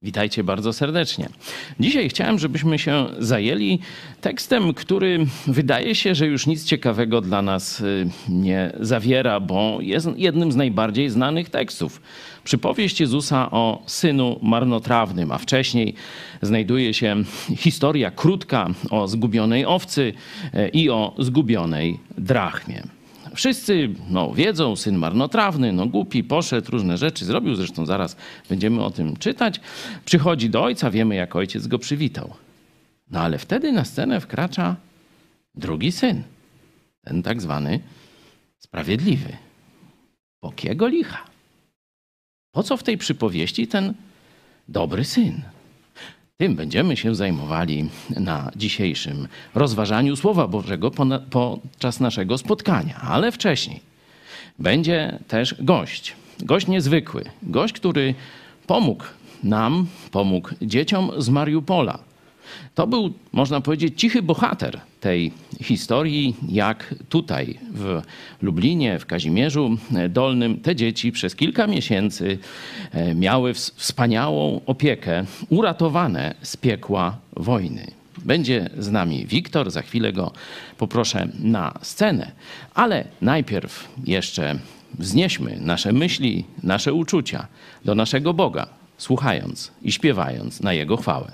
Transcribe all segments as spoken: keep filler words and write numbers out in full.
Witajcie bardzo serdecznie. Dzisiaj chciałem, żebyśmy się zajęli tekstem, który wydaje się, że już nic ciekawego dla nas nie zawiera, bo jest jednym z najbardziej znanych tekstów. Przypowieść Jezusa o synu marnotrawnym, a wcześniej znajduje się historia krótka o zgubionej owcy i o zgubionej drachmie. Wszyscy no, wiedzą, syn marnotrawny, no głupi, poszedł, różne rzeczy zrobił, zresztą zaraz będziemy o tym czytać. Przychodzi do ojca, wiemy jak ojciec go przywitał. No ale wtedy na scenę wkracza drugi syn, ten tak zwany sprawiedliwy. Po kiego licha? Po co w tej przypowieści ten dobry syn? Tym będziemy się zajmowali na dzisiejszym rozważaniu Słowa Bożego podczas naszego spotkania. Ale wcześniej będzie też gość. Gość niezwykły. Gość, który pomógł nam, pomógł dzieciom z Mariupola. To był, można powiedzieć, cichy bohater tej historii, jak tutaj w Lublinie, w Kazimierzu Dolnym te dzieci przez kilka miesięcy miały wspaniałą opiekę, uratowane z piekła wojny. Będzie z nami Wiktor, za chwilę go poproszę na scenę, ale najpierw jeszcze wznieśmy nasze myśli, nasze uczucia do naszego Boga, słuchając i śpiewając na Jego chwałę.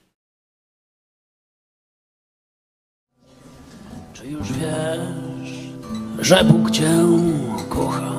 Czy już wiesz, że Bóg Cię kocha?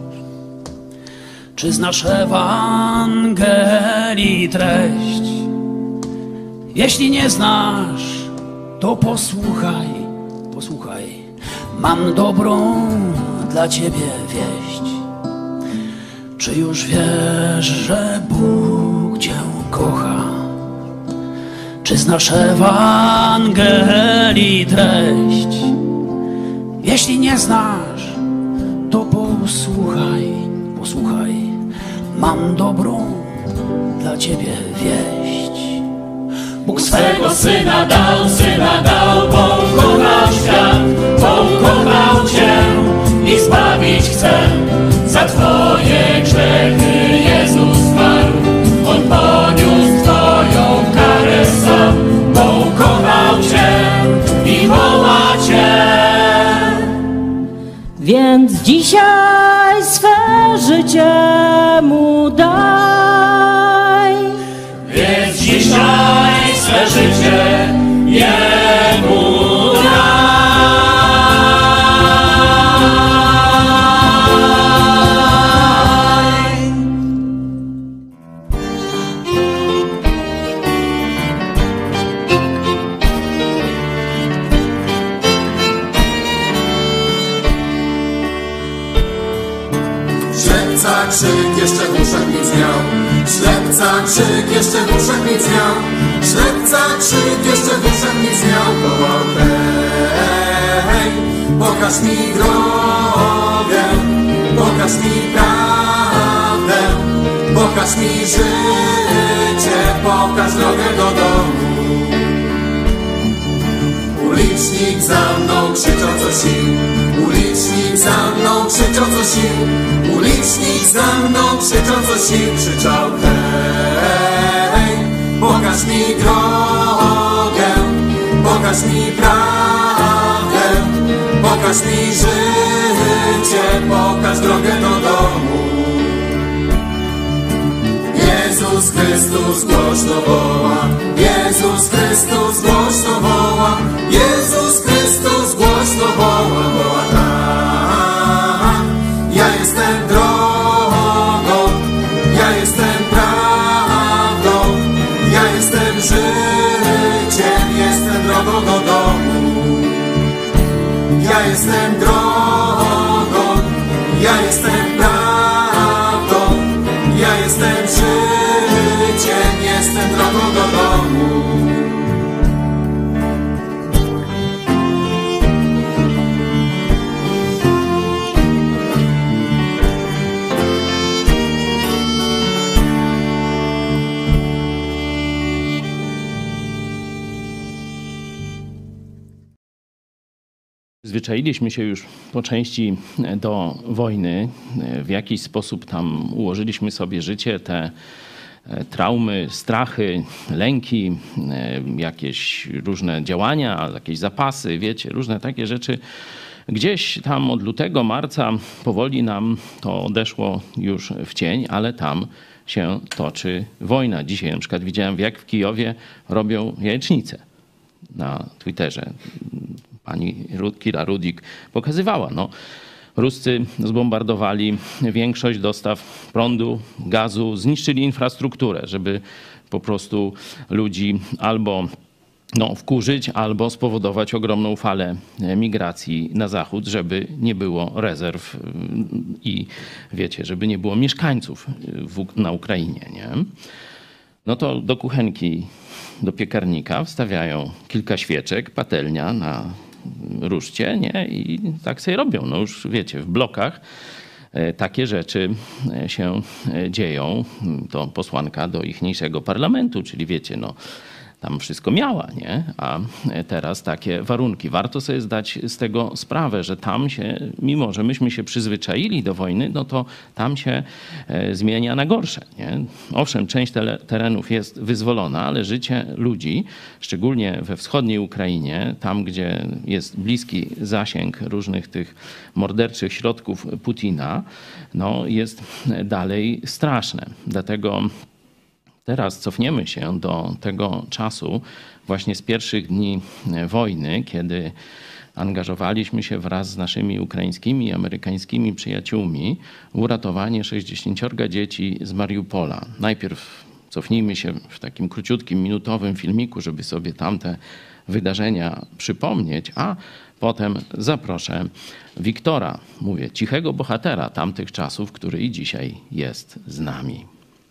Czy znasz Ewangelii treść? Jeśli nie znasz, to posłuchaj, posłuchaj. Mam dobrą dla Ciebie wieść. Czy już wiesz, że Bóg Cię kocha? Czy znasz Ewangelii treść? Jeśli nie znasz, to posłuchaj, posłuchaj. Mam dobrą dla Ciebie wieść. Bóg swego Syna dał, Syna dał, bo kochał świat, bo kochał Cię i zbawić chce. Za Twoje grzechy Jezus zmarł, On poniósł Twoją karę sam, bo kochał Cię i woła Cię. Więc dzisiaj swe życie Mu daj. Więc dzisiaj swe życie Jemu daj. Ślepca krzyk jeszcze w uszach nic miał. Ślepca krzyk jeszcze w uszach nic miał. Ślepca krzyk jeszcze w uszach nic miał. Wołał hej, pokaż mi drogę, pokaż mi prawdę, pokaż mi życie, pokaż drogę do domu. Ulicznik za mną krzyczał co sił. Ulicznik za mną krzyczał co sił. Ulicznik za mną krzyczał co sił. Krzyczał hej, pokaż mi drogę, pokaż mi prawdę, pokaż mi życie, pokaż drogę do domu. Jezus Chrystus głośno woła, Jezus Chrystus głośno woła, Jezus Chrystus głośno woła, woła tak. Ja jestem drogą, ja jestem prawdą, ja jestem życiem, jestem drogą do domu. Ja jestem drogą, ja jestem prawdą, ja jestem życiem, jestem drogą do domu. Zwyczailiśmy się już po części do wojny. W jakiś sposób tam ułożyliśmy sobie życie. Te traumy, strachy, lęki, jakieś różne działania, jakieś zapasy, wiecie, różne takie rzeczy. Gdzieś tam od lutego, marca powoli nam to odeszło już w cień, ale tam się toczy wojna. Dzisiaj na przykład widziałem, jak w Kijowie robią jajecznicę na Twitterze. Pani Kira Rudik pokazywała. No, Ruscy zbombardowali większość dostaw prądu, gazu, zniszczyli infrastrukturę, żeby po prostu ludzi albo no, wkurzyć, albo spowodować ogromną falę migracji na zachód, żeby nie było rezerw i wiecie, żeby nie było mieszkańców w, na Ukrainie, nie? No to do kuchenki, do piekarnika wstawiają kilka świeczek, patelnia na ruszcie, nie? I tak sobie robią. No już wiecie, w blokach takie rzeczy się dzieją. To posłanka do ichniejszego parlamentu, czyli wiecie, no tam wszystko miała, nie? A teraz takie warunki. Warto sobie zdać z tego sprawę, że tam się, mimo że myśmy się przyzwyczaili do wojny, no to tam się zmienia na gorsze, nie? Owszem, część terenów jest wyzwolona, ale życie ludzi, szczególnie we wschodniej Ukrainie, tam gdzie jest bliski zasięg różnych tych morderczych środków Putina, no jest dalej straszne. Dlatego teraz cofniemy się do tego czasu, właśnie z pierwszych dni wojny, kiedy angażowaliśmy się wraz z naszymi ukraińskimi i amerykańskimi przyjaciółmi w uratowanie sześćdziesięciorga dzieci z Mariupola. Najpierw cofnijmy się w takim króciutkim, minutowym filmiku, żeby sobie tamte wydarzenia przypomnieć, a potem zaproszę Wiktora, mówię, cichego bohatera tamtych czasów, który i dzisiaj jest z nami.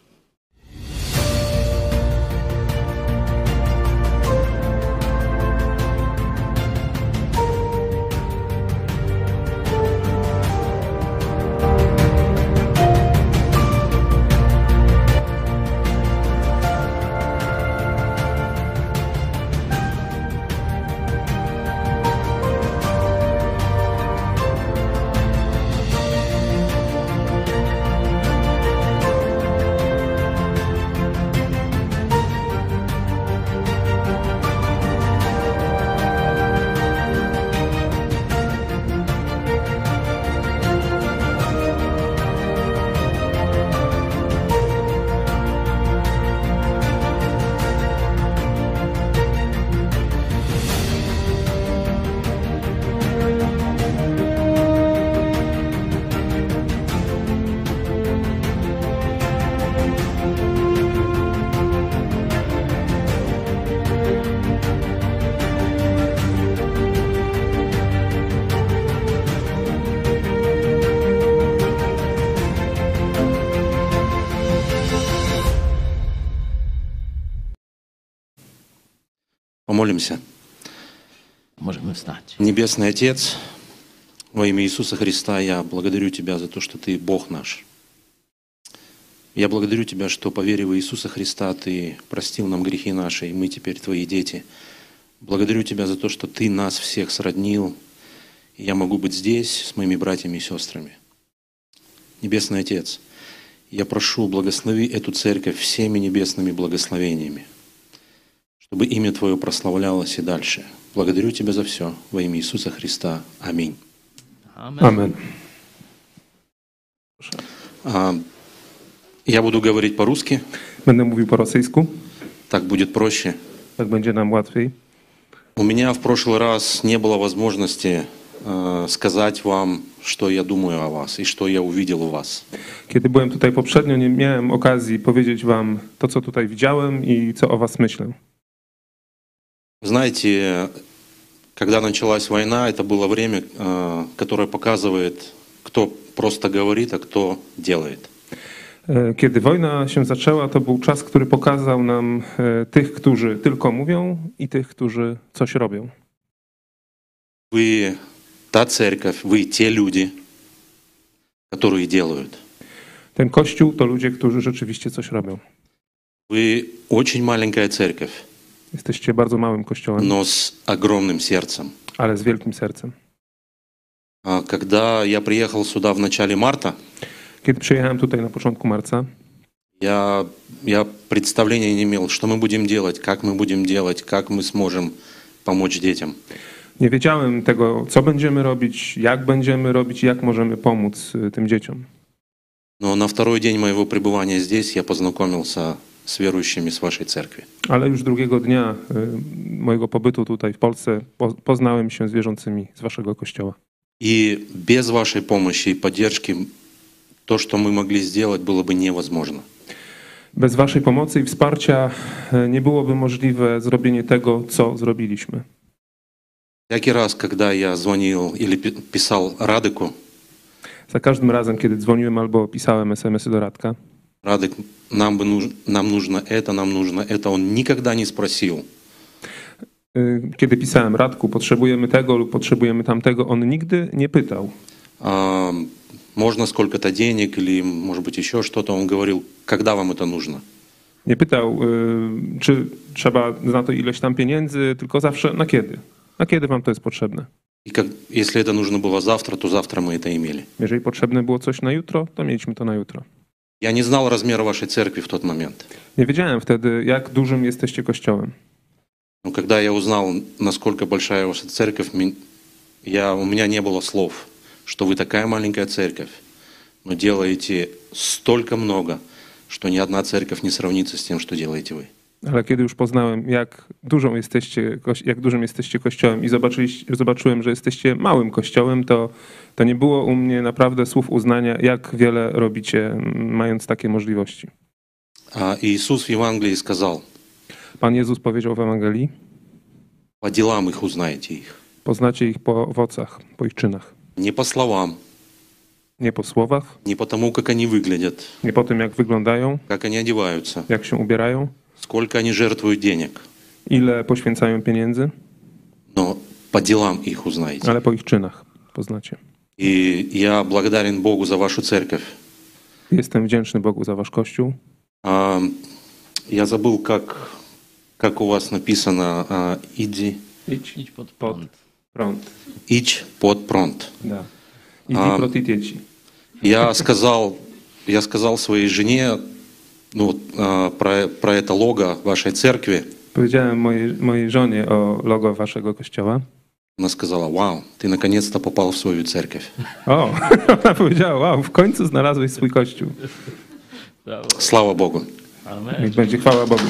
Помолимся. Możemy wstać. Небесный Отец, во имя Иисуса Христа, я благодарю Тебя за то, что Ты Бог наш. Я благодарю Тебя, что по вере в Иисуса Христа Ты простил нам грехи наши, и мы теперь Твои дети. Благодарю Тебя за то, что Ты нас всех сроднил, и я могу быть здесь с моими братьями и сестрами. Небесный Отец, я прошу, благослови эту церковь всеми небесными благословениями, чтобы имя Твое прославлялось и дальше. Благодарю Тебя за все во имя Иисуса Христа. Аминь. Amen. А, Я буду говорить по-русски, Będę mówił po rosyjsku, так будет проще. tak będzie nam łatwiej. У меня в прошлый раз не было возможности э, сказать вам, что я думаю о вас и что я увидел у вас. Kiedy byłem tutaj poprzednio, nie miałem okazji powiedzieć wam to, co tutaj widziałem i co o was myślę. Знаете, когда началась война, это было время, э, которое показывает, кто просто говорит, а кто делает. Kiedy wojna się zaczęła, to był czas, który pokazał nam e, tych, którzy tylko mówią i tych, którzy coś robią. Вы та церковь, вы те люди, которые делают. Ten kościół to ludzie, którzy rzeczywiście coś robią. Вы очень маленькая церковь, Jesteście bardzo małym kościołem, но с огромным сердцем. ale z wielkim sercem. А Когда я приехал сюда в начале марта, Kiedy przyjechałem tutaj na początku marca, Я, я представления не имел, что мы будем делать, как мы будем делать, как мы сможем помочь детям. Nie wiedziałem tego, co będziemy robić, jak będziemy robić i jak możemy pomóc y, tym dzieciom. Но на второй день моего пребывания здесь я познакомился с верующими с вашей церкви. Ale już drugiego dnia y, mojego pobytu tutaj w Polsce po, poznałem się z wierzącymi z waszego kościoła. И без вашей помощи и поддержки то, что мы могли сделать, было бы невозможно. Bez waszej pomocy i wsparcia y, nie byłoby możliwe zrobienie tego, co zrobiliśmy. Всякий раз, когда я звонил или пи- писал Радыку, Za każdym razem, kiedy dzwoniłem albo pisałem es em esy do Radka, Радык, нам, бы нуж- нам нужно это, нам нужно это, он никогда не спросил. y, kiedy pisałem Radku, potrzebujemy tego lub potrzebujemy tamtego, on nigdy nie pytał. А, можно сколько-то денег или, может быть, еще что-то. Он говорил, когда вам это нужно. Nie pytał, y, czy trzeba na to ileś tam pieniędzy, tylko zawsze na kiedy. Na kiedy wam to jest potrzebne? И как, если это нужно было завтра, то завтра мы это имели. Jeżeli potrzebne było coś na jutro, to mieliśmy to na jutro. Я не знал размера вашей церкви в тот момент. Nie wiedziałem wtedy, jak dużym jesteście kościołem. Но когда я узнал, насколько большая ваша церковь, ми- я, у меня не было слов, что вы такая маленькая церковь, но делаете столько много, что ни одна церковь не сравнится с тем, что делаете вы. Ale kiedy już poznałem, jak dużą jesteście, koś- jak dużym jesteście kościołem i zobaczyliście, zobaczyłem, że jesteście małym kościołem, to, to nie było u mnie naprawdę słów uznania, jak wiele robicie, m, mając takie możliwości. А Иисус в Евангелии сказал, Pan Jezus powiedział w Ewangelii, по делам их узнаете их. poznacie ich po owocach, po ich czynach. Не по словам, Nie po słowach, не по тому, как они выглядят, nie po tym, jak wyglądają, как они одеваются, jak się ubierają, сколько они жертвуют денег, ile poświęcają pieniędzy, но по делам их узнаете. ale po ich czynach poznacie. И я благодарен Богу за вашу церковь. Jestem wdzięczny Bogu za wasz kościół. А, Я забыл, как, как у вас написано а, «иди, Idź Idź pod pod prąd. prąd. идź под прąd». Da. Idź A- proti dzieci. Я сказал, я сказал своей жене ну, вот, а, про, про это лого вашей церкви. Powiedziałem mojej, mojej żonie o logo waszego kościoła. Она сказала, вау, ты наконец-то попал в свою церковь. O, ona powiedziała, wow, w końcu znalazłeś swój kościół. Brawo. Слава Богу. Amen. Niech będzie chwała Bogu.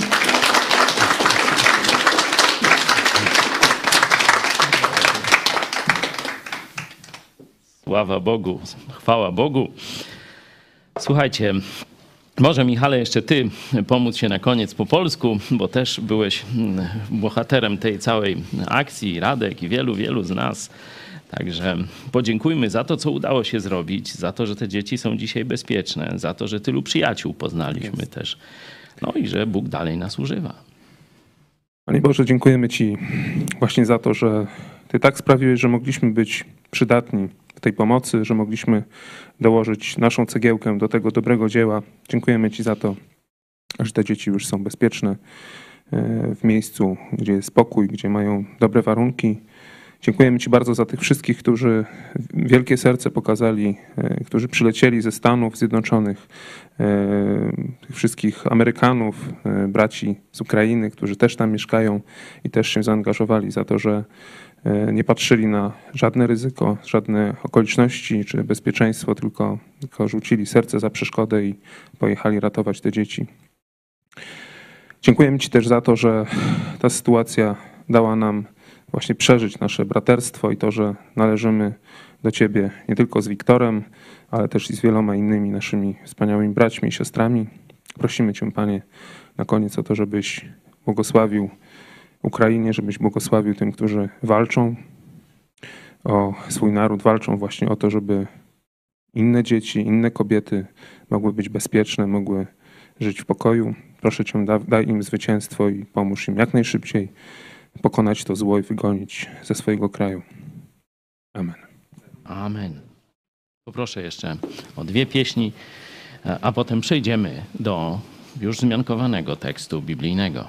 Sława Bogu, chwała Bogu. Słuchajcie, może Michale jeszcze ty pomóc się na koniec po polsku, bo też byłeś mm, bohaterem tej całej akcji, Radek i wielu, wielu z nas. Także podziękujmy za to, co udało się zrobić, za to, że te dzieci są dzisiaj bezpieczne, za to, że tylu przyjaciół poznaliśmy też. No i że Bóg dalej nas używa. Panie Boże, dziękujemy Ci właśnie za to, że Ty tak sprawiłeś, że mogliśmy być przydatni w tej pomocy, że mogliśmy dołożyć naszą cegiełkę do tego dobrego dzieła. Dziękujemy Ci za to, że te dzieci już są bezpieczne w miejscu, gdzie jest spokój, gdzie mają dobre warunki. Dziękujemy Ci bardzo za tych wszystkich, którzy wielkie serce pokazali, którzy przylecieli ze Stanów Zjednoczonych, tych wszystkich Amerykanów, braci z Ukrainy, którzy też tam mieszkają i też się zaangażowali za to, że nie patrzyli na żadne ryzyko, żadne okoliczności czy bezpieczeństwo, tylko, tylko rzucili serce za przeszkodę i pojechali ratować te dzieci. Dziękujemy Ci też za to, że ta sytuacja dała nam właśnie przeżyć nasze braterstwo i to, że należymy do Ciebie nie tylko z Wiktorem, ale też i z wieloma innymi naszymi wspaniałymi braćmi i siostrami. Prosimy Cię, Panie, na koniec o to, żebyś błogosławił Ukrainie, żebyś błogosławił tym, którzy walczą o swój naród, walczą właśnie o to, żeby inne dzieci, inne kobiety mogły być bezpieczne, mogły żyć w pokoju. Proszę Cię, da, daj im zwycięstwo i pomóż im jak najszybciej pokonać to zło i wygonić ze swojego kraju. Amen. Amen. Poproszę jeszcze o dwie pieśni, a potem przejdziemy do już zmiankowanego tekstu biblijnego.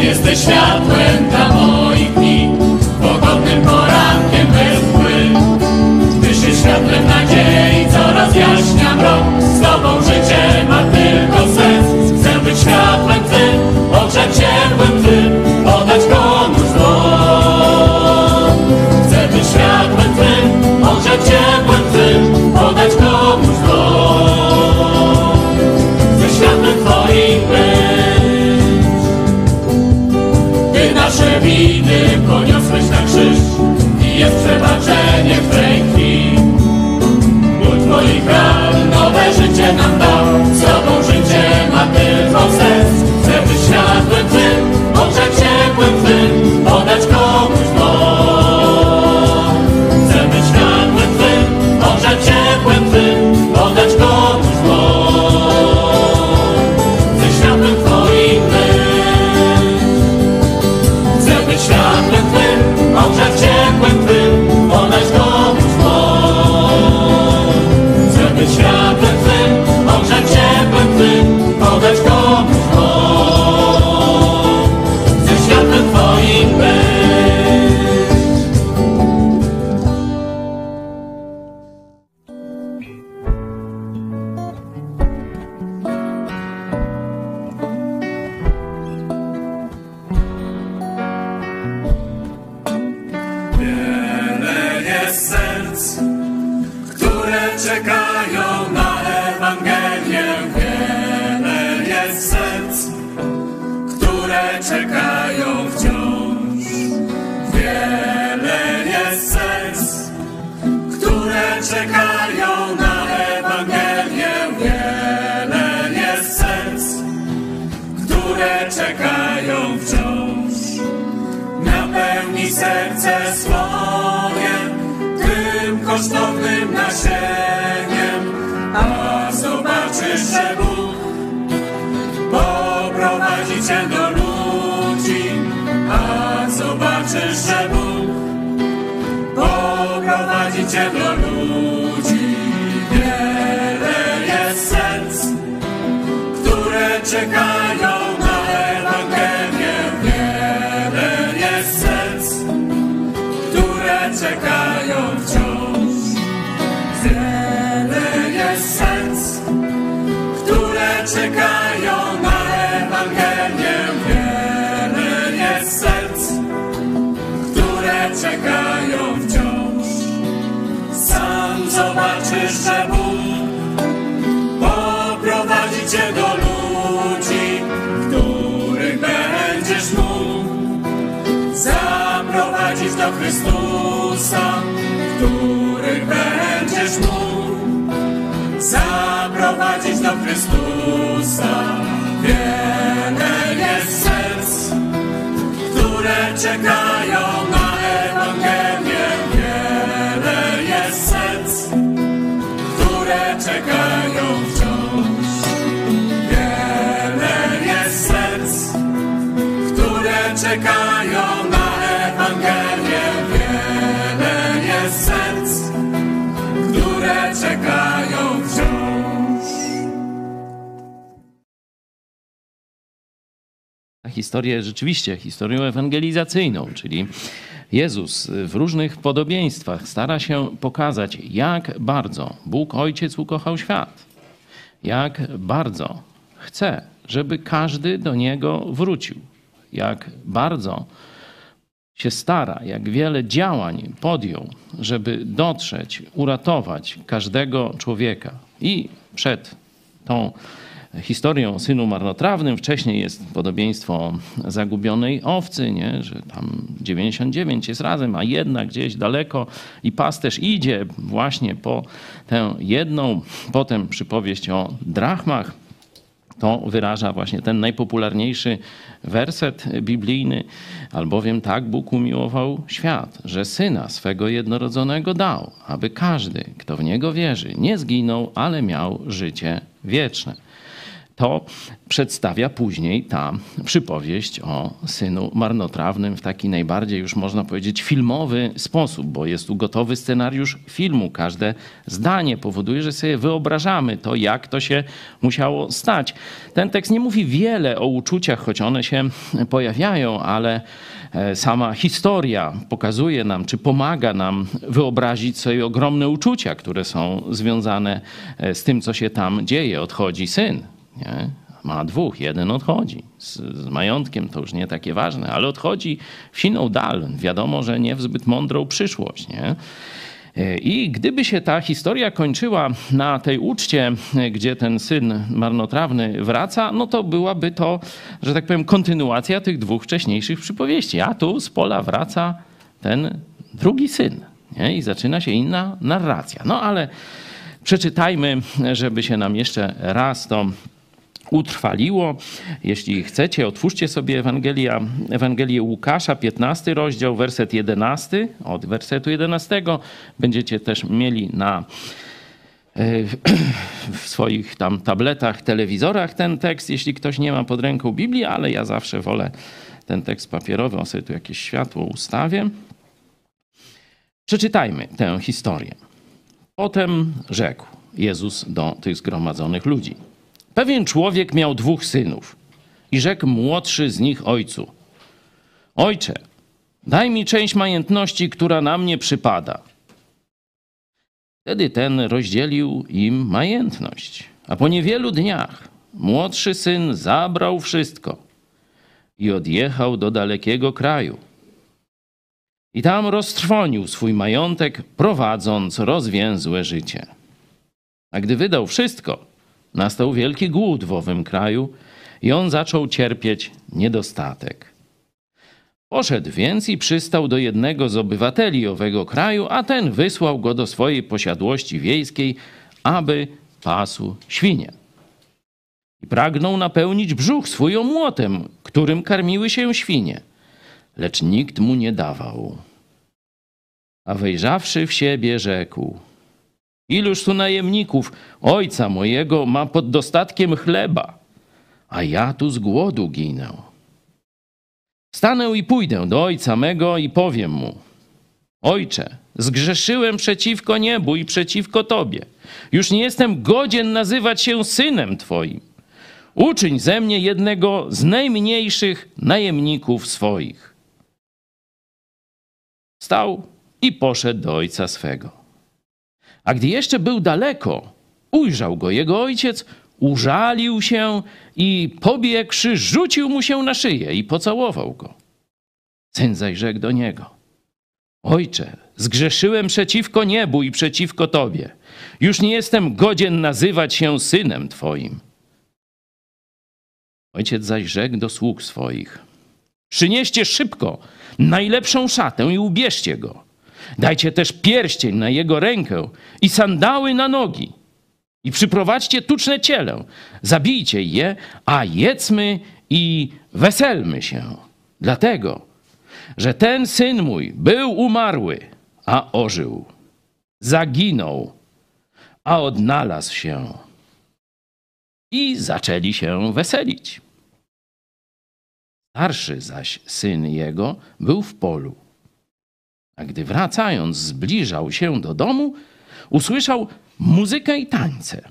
jesteś światłem dla moich dni, pogodnym porankiem bez mgły. Tyś jest światłem nadziei, co rozjaśnia mrok. Z Tobą życie ma tylko sens. Chcę być światłem Twym, ogrzać ciepłem Twym, podać komuś dłoń. Chcę być światłem Twym, ogrzać ciepłem Twym, podać komuś dłoń. Chcę światłem Twoim być. Ty nasze winy poniosłeś na krzyż i jest przebaczenie w tej krwi. Ból Twoich ran nowe życie nam dał. Z Tobą życie ma tylko sens. Chcę być światłem Twym, ogrzać ciepłem Twym, podać komuś dłoń. Chcę być światłem Twym, ogrzać ciepłem Twym, podać komuś dłoń. Chcę światłem Twoim być. Chcę być światłem Twym, ogrzać ciepłem Twym, podać komuś dłoń. Chcę być światłem Twym, ogrzać ciepłem Twym, podać komuś dłoń. Chcę światłem Twoim być. Wiele jest serc, które czekają na Ewangelię. Wiele jest serc, które czekają wciąż. Wiele jest serc, które czekają na Ewangelię. Wiele jest serc, które czekają wciąż. Napełnij serce swoje tym kosztownym nasieniem, a zobaczysz, że Bóg poprowadzi Cię do ludzi. A zobaczysz, że Bóg poprowadzi Cię do ludzi. Wiele jest serc, które czekają na Ewangelię. Wiele jest serc, które czekają wciąż. Wiele jest serc, które czekają na Ewangelię. Wiele jest serc, które czekają wciąż. Sam zobaczysz, że Bóg poprowadzi Cię do ludzi, których będziesz mógł zaprowadzić do Chrystusa, których będziesz mógł zaprowadzić do Chrystusa. Wiele jest serc, które czekają na Ewangelię. Wiele jest serc, które czekają wciąż. Wiele jest serc, które czekają na Ewangelię. Wiele jest serc, które czekają wciąż. Historię rzeczywiście, historię ewangelizacyjną, czyli Jezus w różnych podobieństwach stara się pokazać, jak bardzo Bóg Ojciec ukochał świat, jak bardzo chce, żeby każdy do Niego wrócił, jak bardzo się stara, jak wiele działań podjął, żeby dotrzeć, uratować każdego człowieka. I przed tą historią o synu marnotrawnym wcześniej jest podobieństwo zagubionej owcy, nie? Że tam dziewięćdziesiąt dziewięć jest razem, a jedna gdzieś daleko i pasterz idzie właśnie po tę jedną. Potem przypowieść o drachmach. To wyraża właśnie ten najpopularniejszy werset biblijny. Albowiem tak Bóg umiłował świat, że Syna swego jednorodzonego dał, aby każdy, kto w Niego wierzy, nie zginął, ale miał życie wieczne. to przedstawia później ta przypowieść o synu marnotrawnym w taki najbardziej, już można powiedzieć, filmowy sposób, bo jest tu gotowy scenariusz filmu. Każde zdanie powoduje, że sobie wyobrażamy to, jak to się musiało stać. Ten tekst nie mówi wiele o uczuciach, choć one się pojawiają, ale sama historia pokazuje nam, czy pomaga nam wyobrazić sobie ogromne uczucia, które są związane z tym, co się tam dzieje. Odchodzi syn. Nie? Ma dwóch, jeden odchodzi. Z, z majątkiem to już nie takie ważne, ale odchodzi w siną dal. Wiadomo, że nie w zbyt mądrą przyszłość. Nie? I gdyby się ta historia kończyła na tej uczcie, gdzie ten syn marnotrawny wraca, no to byłaby to, że tak powiem, kontynuacja tych dwóch wcześniejszych przypowieści. A tu z pola wraca ten drugi syn. Nie? I zaczyna się inna narracja. No ale przeczytajmy, żeby się nam jeszcze raz to utrwaliło. Jeśli chcecie, otwórzcie sobie Ewangelia, Ewangelię Łukasza, piętnasty rozdział, werset jedenasty. Od wersetu jedenastego będziecie też mieli na w swoich tam tabletach, telewizorach ten tekst, jeśli ktoś nie ma pod ręką Biblii, ale ja zawsze wolę ten tekst papierowy, on sobie tu jakieś światło ustawię. Przeczytajmy tę historię. Potem rzekł Jezus do tych zgromadzonych ludzi. Pewien człowiek miał dwóch synów i rzekł młodszy z nich ojcu. Ojcze, daj mi część majątności, która na mnie przypada. Wtedy ten rozdzielił im majątność. A po niewielu dniach młodszy syn zabrał wszystko i odjechał do dalekiego kraju. I tam roztrwonił swój majątek, prowadząc rozwięzłe życie. A gdy wydał wszystko, nastał wielki głód w owym kraju i on zaczął cierpieć niedostatek. Poszedł więc i przystał do jednego z obywateli owego kraju, a ten wysłał go do swojej posiadłości wiejskiej, aby pasł świnie. I pragnął napełnić brzuch swój omłotem, którym karmiły się świnie, lecz nikt mu nie dawał. A wejrzawszy w siebie, rzekł: Iluż tu najemników ojca mojego ma pod dostatkiem chleba, a ja tu z głodu ginę. Wstanę i pójdę do ojca mego i powiem mu: Ojcze, zgrzeszyłem przeciwko niebu i przeciwko Tobie. Już nie jestem godzien nazywać się synem Twoim. Uczyń ze mnie jednego z najmniejszych najemników swoich. Wstał i poszedł do ojca swego. A gdy jeszcze był daleko, ujrzał go jego ojciec, użalił się i pobiegłszy, rzucił mu się na szyję i pocałował go. Syn zaś rzekł do niego: Ojcze, zgrzeszyłem przeciwko niebu i przeciwko Tobie. Już nie jestem godzien nazywać się synem Twoim. Ojciec zaś rzekł do sług swoich: Przynieście szybko najlepszą szatę i ubierzcie go. Dajcie też pierścień na jego rękę i sandały na nogi. I przyprowadźcie tuczne ciele. Zabijcie je, a jedzmy i weselmy się. Dlatego, że ten syn mój był umarły, a ożył. Zaginął, a odnalazł się. I zaczęli się weselić. Starszy zaś syn jego był w polu. A gdy wracając zbliżał się do domu, usłyszał muzykę i tańce.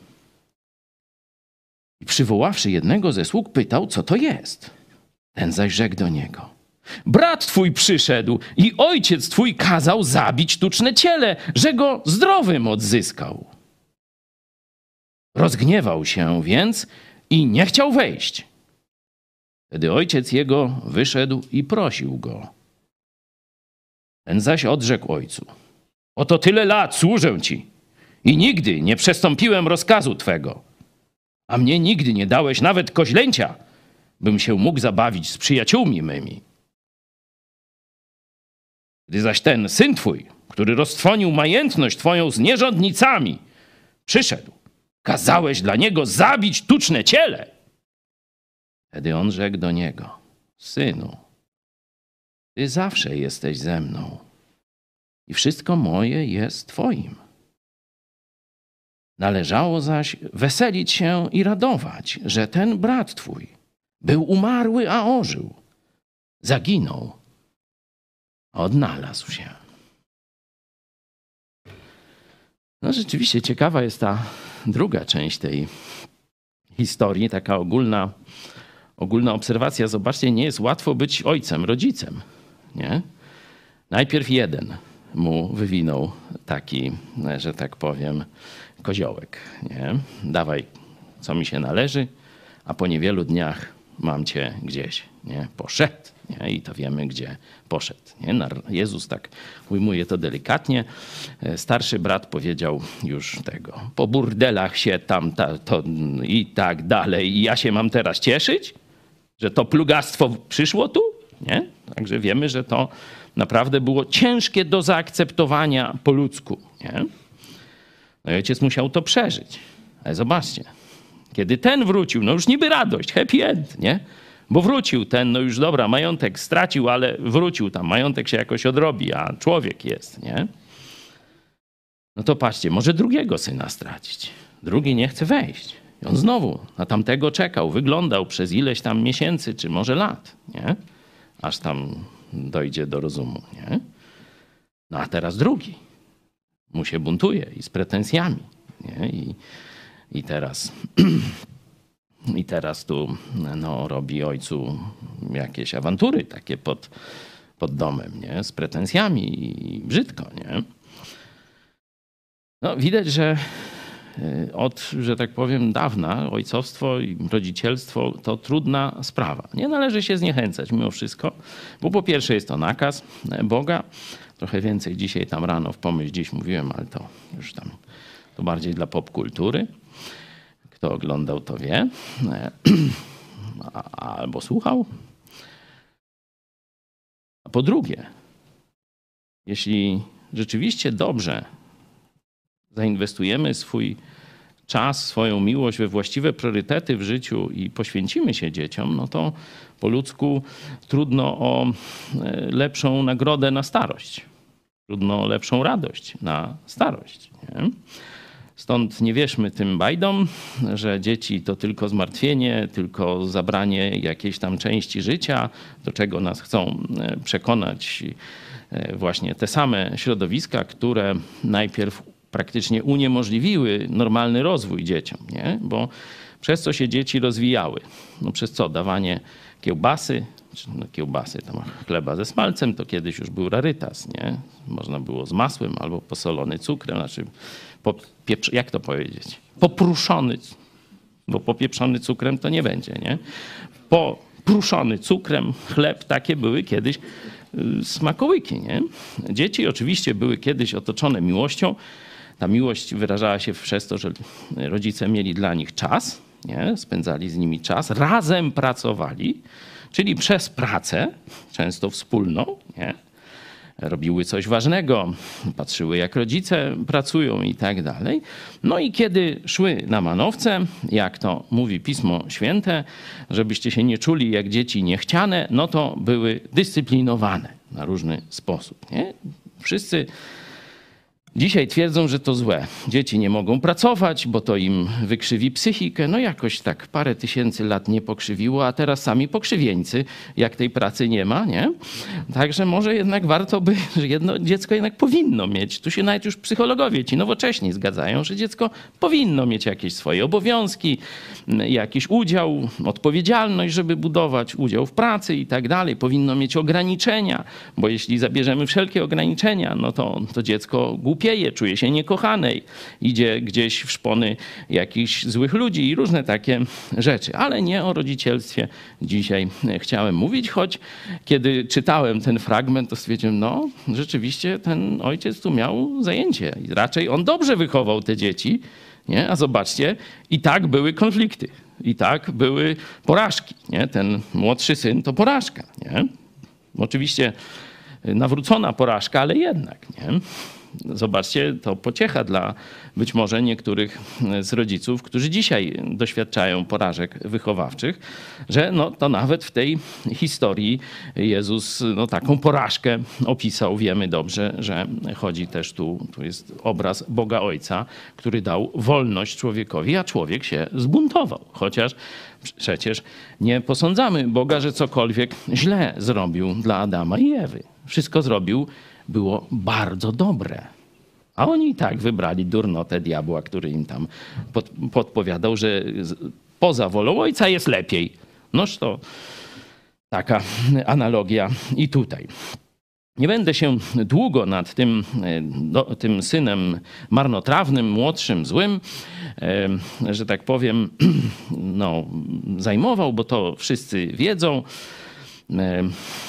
I przywoławszy jednego ze sług, pytał, co to jest. Ten zaś rzekł do niego: Brat twój przyszedł i ojciec twój kazał zabić tuczne ciele, że go zdrowym odzyskał. Rozgniewał się więc i nie chciał wejść. Wtedy ojciec jego wyszedł i prosił go. Ten zaś odrzekł ojcu: Oto tyle lat służę ci i nigdy nie przestąpiłem rozkazu twego, a mnie nigdy nie dałeś nawet koźlęcia, bym się mógł zabawić z przyjaciółmi mymi. Gdy zaś ten syn twój, który roztrwonił majątność twoją z nierządnicami, przyszedł, kazałeś dla niego zabić tuczne ciele. Wtedy on rzekł do niego: Synu, ty zawsze jesteś ze mną i wszystko moje jest twoim. Należało zaś weselić się i radować, że ten brat twój był umarły, a ożył. Zaginął, a odnalazł się. No rzeczywiście ciekawa jest ta druga część tej historii, taka ogólna, ogólna obserwacja. Zobaczcie, nie jest łatwo być ojcem, rodzicem, nie? Najpierw jeden mu wywinął taki, że tak powiem, koziołek, nie? Dawaj, co mi się należy, a po niewielu dniach mam cię gdzieś, nie? Poszedł, nie? I to wiemy, gdzie poszedł, nie? Jezus tak ujmuje to delikatnie. Starszy brat powiedział już tego, po burdelach się tam ta, to i tak dalej. I ja się mam teraz cieszyć, że to plugastwo przyszło tu, nie? Także wiemy, że to naprawdę było ciężkie do zaakceptowania po ludzku, nie? No i ojciec musiał to przeżyć. Ale zobaczcie, kiedy ten wrócił, no już niby radość, happy end, nie? Bo wrócił ten, no już dobra, majątek stracił, ale wrócił tam, majątek się jakoś odrobi, a człowiek jest, nie? No to patrzcie, może drugiego syna stracić. Drugi nie chce wejść. I on znowu na tamtego czekał, wyglądał przez ileś tam miesięcy, czy może lat, nie? Aż tam dojdzie do rozumu, nie? No a teraz drugi mu się buntuje i z pretensjami, nie? I, i teraz... I teraz tu no, robi ojcu jakieś awantury takie pod, pod domem, nie? Z pretensjami i brzydko, nie? No, widać, że od, że tak powiem, dawna ojcowstwo i rodzicielstwo to trudna sprawa. Nie należy się zniechęcać mimo wszystko, bo po pierwsze jest to nakaz Boga. Trochę więcej dzisiaj tam rano w Pomyśl Dziś mówiłem, ale to już tam to bardziej dla popkultury. Kto oglądał, to wie, albo słuchał. A po drugie, jeśli rzeczywiście dobrze zainwestujemy swój czas, swoją miłość we właściwe priorytety w życiu i poświęcimy się dzieciom, no to po ludzku trudno o lepszą nagrodę na starość. Trudno o lepszą radość na starość, nie? Stąd nie wierzmy tym bajdom, że dzieci to tylko zmartwienie, tylko zabranie jakiejś tam części życia, do czego nas chcą przekonać właśnie te same środowiska, które najpierw praktycznie uniemożliwiły normalny rozwój dzieciom, nie? Bo przez co się dzieci rozwijały? No przez co? Dawanie kiełbasy, czy no kiełbasy, tam chleba ze smalcem, to kiedyś już był rarytas, nie? Można było z masłem albo posolony cukrem, znaczy popieprz, jak to powiedzieć? Popruszony, bo popieprzony cukrem to nie będzie, nie? Popruszony cukrem chleb, takie były kiedyś smakołyki, nie? Dzieci oczywiście były kiedyś otoczone miłością. Ta miłość wyrażała się przez to, że rodzice mieli dla nich czas, nie? Spędzali z nimi czas, razem pracowali, czyli przez pracę, często wspólną, nie? Robiły coś ważnego, patrzyły jak rodzice pracują i tak dalej. No i kiedy szły na manowce, jak to mówi Pismo Święte, żebyście się nie czuli jak dzieci niechciane, no to były dyscyplinowane na różny sposób, nie? Wszyscy dzisiaj twierdzą, że to złe. Dzieci nie mogą pracować, bo to im wykrzywi psychikę. No jakoś tak parę tysięcy lat nie pokrzywiło, a teraz sami pokrzywieńcy, jak tej pracy nie ma, nie? Także może jednak warto by, że jedno dziecko jednak powinno mieć. Tu się nawet już psychologowie ci nowocześni zgadzają, że dziecko powinno mieć jakieś swoje obowiązki, jakiś udział, odpowiedzialność, żeby budować udział w pracy i tak dalej. Powinno mieć ograniczenia, bo jeśli zabierzemy wszelkie ograniczenia, no to, to dziecko głupie czuje się niekochanej, idzie gdzieś w szpony jakichś złych ludzi i różne takie rzeczy. Ale nie o rodzicielstwie dzisiaj chciałem mówić, choć kiedy czytałem ten fragment, to stwierdziłem, no rzeczywiście ten ojciec tu miał zajęcie i raczej on dobrze wychował te dzieci, nie? A zobaczcie, i tak były konflikty, i tak były porażki, nie? Ten młodszy syn to porażka, nie? Oczywiście nawrócona porażka, ale jednak, nie? zobaczcie, to pociecha dla być może niektórych z rodziców, którzy dzisiaj doświadczają porażek wychowawczych, że no, to nawet w tej historii Jezus no, taką porażkę opisał. Wiemy dobrze, że chodzi też tu, tu jest obraz Boga Ojca, który dał wolność człowiekowi, a człowiek się zbuntował. Chociaż przecież nie posądzamy Boga, że cokolwiek źle zrobił dla Adama i Ewy. Wszystko zrobił, było bardzo dobre. A oni i tak wybrali durnotę diabła, który im tam pod, podpowiadał, że poza wolą Ojca jest lepiej. Noż to taka analogia i tutaj. Nie będę się długo nad tym, do, tym synem marnotrawnym, młodszym, złym, e, że tak powiem, no, zajmował, bo to wszyscy wiedzą. E,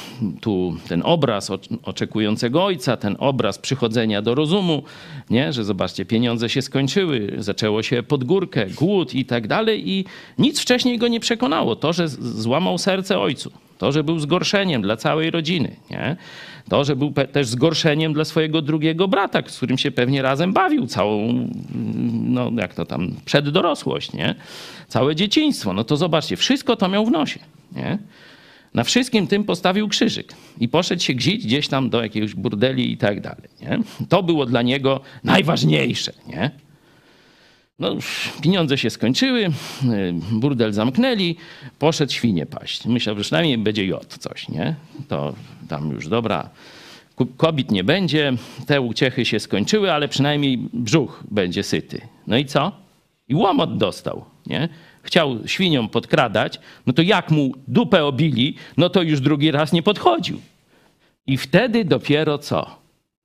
tu ten obraz oczekującego ojca, ten obraz przychodzenia do rozumu, nie? Że zobaczcie, pieniądze się skończyły, zaczęło się pod górkę, głód i tak dalej i nic wcześniej go nie przekonało. To, że złamał serce ojcu, to, że był zgorszeniem dla całej rodziny, nie? To, że był też zgorszeniem dla swojego drugiego brata, z którym się pewnie razem bawił całą, no jak to tam, przeddorosłość, nie? Całe dzieciństwo. No to zobaczcie, wszystko to miał w nosie, nie? Na wszystkim tym postawił krzyżyk i poszedł się gzić gdzieś tam do jakiegoś burdeli i tak dalej, nie? To było dla niego najważniejsze, nie? No, pieniądze się skończyły, burdel zamknęli, poszedł świnie paść. Myślał, że przynajmniej będzie jod coś, nie? To tam już dobra, kobiet nie będzie, te uciechy się skończyły, ale przynajmniej brzuch będzie syty. No i co? I łomot dostał, nie? Chciał świniom podkradać, no to jak mu dupę obili, no to już drugi raz nie podchodził. I wtedy dopiero co?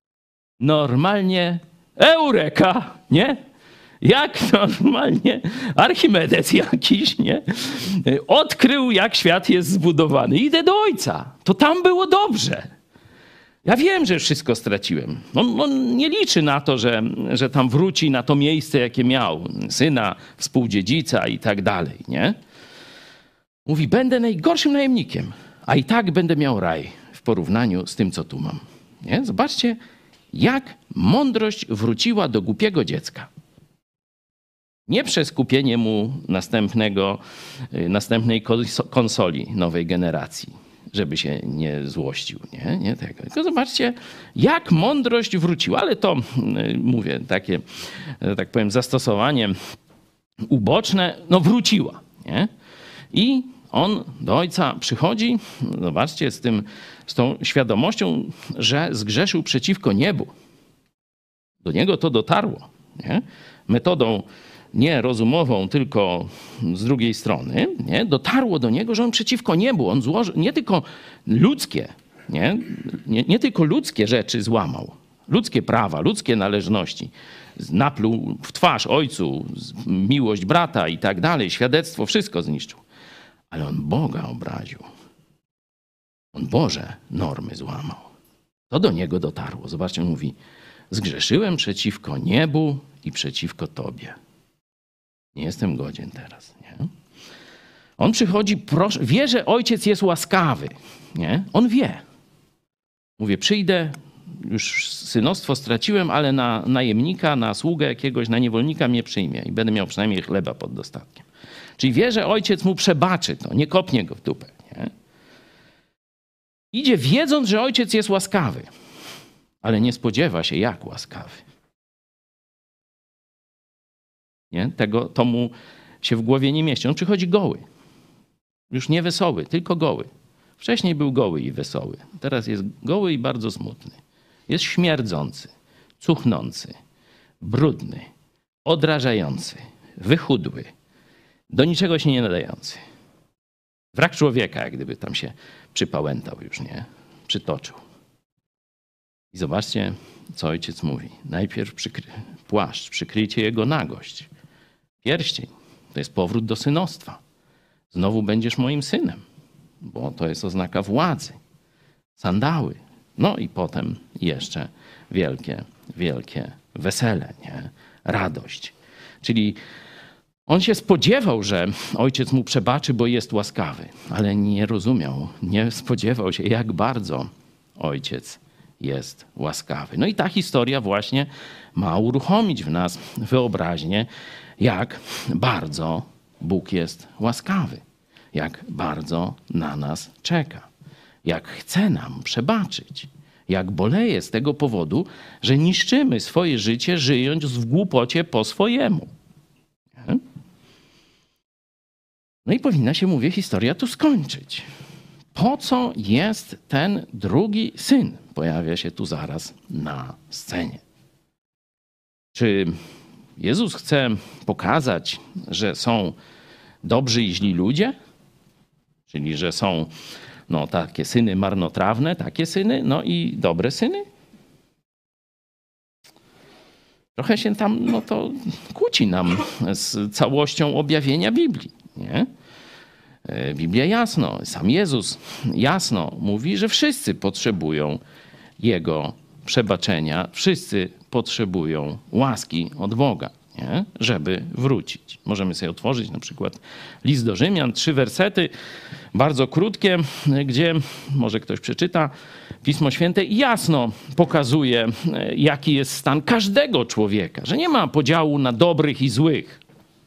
Normalnie eureka, nie? Jak normalnie Archimedes jakiś, nie? Odkrył, jak świat jest zbudowany. Idę do ojca. To tam było dobrze. Ja wiem, że wszystko straciłem. On, on nie liczy na to, że, że tam wróci na to miejsce, jakie miał. Syna, współdziedzica i tak dalej, nie? Mówi, będę najgorszym najemnikiem, a i tak będę miał raj w porównaniu z tym, co tu mam. Nie? Zobaczcie, jak mądrość wróciła do głupiego dziecka. Nie przez kupienie mu następnego, następnej konsoli nowej generacji, żeby się nie złościł, nie? Nie tego. Tylko zobaczcie, jak mądrość wróciła, ale to, mówię, takie, tak powiem, zastosowanie uboczne, no wróciła, nie? I on do ojca przychodzi, zobaczcie, z, tym, z tą świadomością, że zgrzeszył przeciwko niebu. Do niego to dotarło, nie? Metodą nie rozumową, tylko z drugiej strony, nie? Dotarło do niego, że on przeciwko niebu, on złożył nie tylko ludzkie, nie? Nie, nie tylko ludzkie rzeczy złamał, ludzkie prawa, ludzkie należności, napluł w twarz ojcu, miłość brata i tak dalej, świadectwo, wszystko zniszczył. Ale on Boga obraził. On Boże normy złamał. To do niego dotarło. Zobaczcie, on mówi, zgrzeszyłem przeciwko niebu i przeciwko Tobie. Nie jestem godzien teraz, nie? On przychodzi, proszę, wie, że ojciec jest łaskawy, nie? On wie. Mówię, przyjdę, już synostwo straciłem, ale na najemnika, na sługę jakiegoś, na niewolnika mnie przyjmie i będę miał przynajmniej chleba pod dostatkiem. Czyli wie, że ojciec mu przebaczy to, nie kopnie go w dupę, nie? Idzie wiedząc, że ojciec jest łaskawy, ale nie spodziewa się, jak łaskawy. Nie? Tego to mu się w głowie nie mieści. On przychodzi goły. Już nie wesoły, tylko goły. Wcześniej był goły i wesoły. Teraz jest goły i bardzo smutny. Jest śmierdzący, cuchnący, brudny, odrażający, wychudły, do niczego się nie nadający. Wrak człowieka, jak gdyby tam się przypałętał już, nie? Przytoczył. I zobaczcie, co ojciec mówi. Najpierw przykry... płaszcz, przykryjcie jego nagość. Pierścień, to jest powrót do synostwa. Znowu będziesz moim synem, bo to jest oznaka władzy. Sandały. No i potem jeszcze wielkie, wielkie wesele, nie? Radość. Czyli on się spodziewał, że ojciec mu przebaczy, bo jest łaskawy, ale nie rozumiał, nie spodziewał się, jak bardzo ojciec jest łaskawy. No i ta historia właśnie ma uruchomić w nas wyobraźnię, jak bardzo Bóg jest łaskawy, jak bardzo na nas czeka, jak chce nam przebaczyć, jak boleje z tego powodu, że niszczymy swoje życie, żyjąc w głupocie po swojemu. Nie? No i powinna się, mówię, historia tu skończyć. Po co jest ten drugi syn? Pojawia się tu zaraz na scenie. Czy Jezus chce pokazać, że są dobrzy i źli ludzie? Czyli, że są no, takie syny marnotrawne, takie syny, no i dobre syny? Trochę się tam, no to kłóci nam z całością objawienia Biblii, nie? Biblia jasno, sam Jezus jasno mówi, że wszyscy potrzebują Jego przebaczenia, wszyscy potrzebują łaski od Boga, nie? Żeby wrócić. Możemy sobie otworzyć na przykład list do Rzymian, trzy wersety, bardzo krótkie, gdzie może ktoś przeczyta, Pismo Święte jasno pokazuje, jaki jest stan każdego człowieka, że nie ma podziału na dobrych i złych.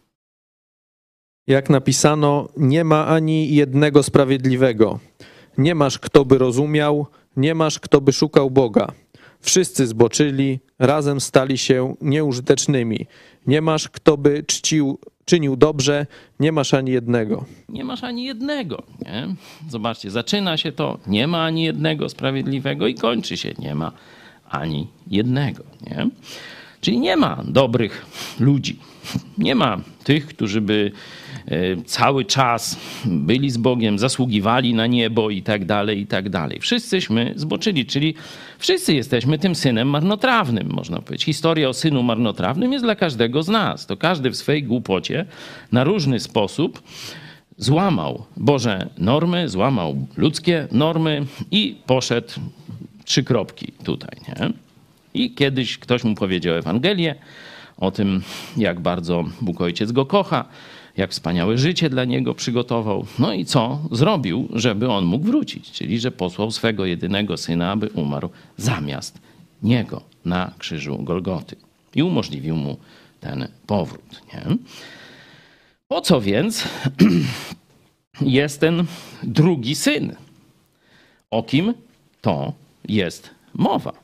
Jak napisano, nie ma ani jednego sprawiedliwego. Nie masz, kto by rozumiał, nie masz, kto by szukał Boga. Wszyscy zboczyli, razem stali się nieużytecznymi. Nie masz, kto by czcił, czynił dobrze, nie masz ani jednego. Nie masz ani jednego, nie? Zobaczcie, zaczyna się to, nie ma ani jednego sprawiedliwego i kończy się, nie ma ani jednego, nie? Czyli nie ma dobrych ludzi. Nie ma tych, którzy by cały czas byli z Bogiem, zasługiwali na niebo i tak dalej, i tak dalej. Wszyscyśmy zboczyli, czyli wszyscy jesteśmy tym synem marnotrawnym, można powiedzieć. Historia o synu marnotrawnym jest dla każdego z nas. To każdy w swej głupocie na różny sposób złamał Boże normy, złamał ludzkie normy i poszedł trzy kropki tutaj, nie? I kiedyś ktoś mu powiedział Ewangelię o tym, jak bardzo Bóg Ojciec go kocha, jak wspaniałe życie dla niego przygotował. No i co zrobił, żeby on mógł wrócić? Czyli, że posłał swego jedynego syna, aby umarł zamiast niego na krzyżu Golgoty. I umożliwił mu ten powrót. Nie? Po co więc jest ten drugi syn? O kim to jest mowa?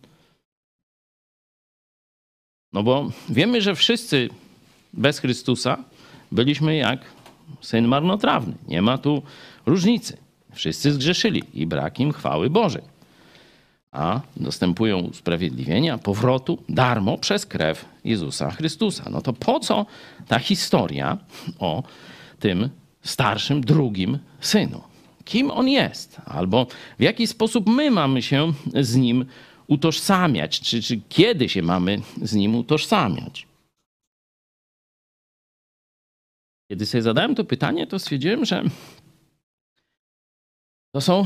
No bo wiemy, że wszyscy bez Chrystusa byliśmy jak syn marnotrawny. Nie ma tu różnicy. Wszyscy zgrzeszyli i brak im chwały Bożej. A dostępują usprawiedliwienia, powrotu darmo przez krew Jezusa Chrystusa. No to po co ta historia o tym starszym, drugim synu? Kim on jest? Albo w jaki sposób my mamy się z nim utożsamiać? Czy, czy kiedy się mamy z nim utożsamiać? Kiedy sobie zadałem to pytanie, to stwierdziłem, że to są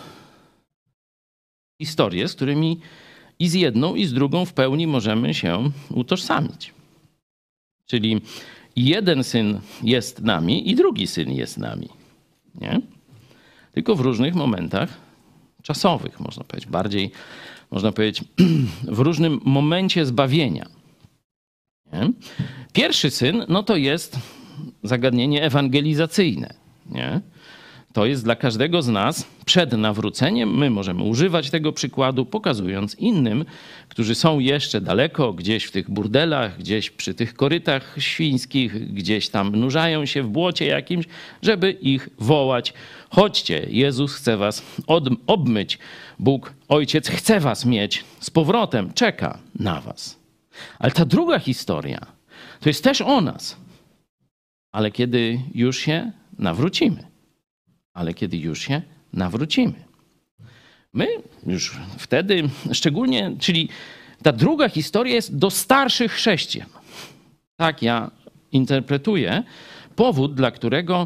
historie, z którymi i z jedną, i z drugą w pełni możemy się utożsamić. Czyli jeden syn jest nami i drugi syn jest nami. Nie? Tylko w różnych momentach czasowych, można powiedzieć. Bardziej, można powiedzieć, w różnym momencie zbawienia. Nie? Pierwszy syn, no to jest zagadnienie ewangelizacyjne. Nie? To jest dla każdego z nas przed nawróceniem. My możemy używać tego przykładu, pokazując innym, którzy są jeszcze daleko, gdzieś w tych burdelach, gdzieś przy tych korytach świńskich, gdzieś tam nurzają się w błocie jakimś, żeby ich wołać. Chodźcie, Jezus chce was od, obmyć. Bóg, Ojciec chce was mieć z powrotem, czeka na was. Ale ta druga historia to jest też o nas. Ale kiedy już się nawrócimy. Ale kiedy już się nawrócimy. My już wtedy, szczególnie, czyli ta druga historia jest do starszych chrześcijan. Tak ja interpretuję powód, dla którego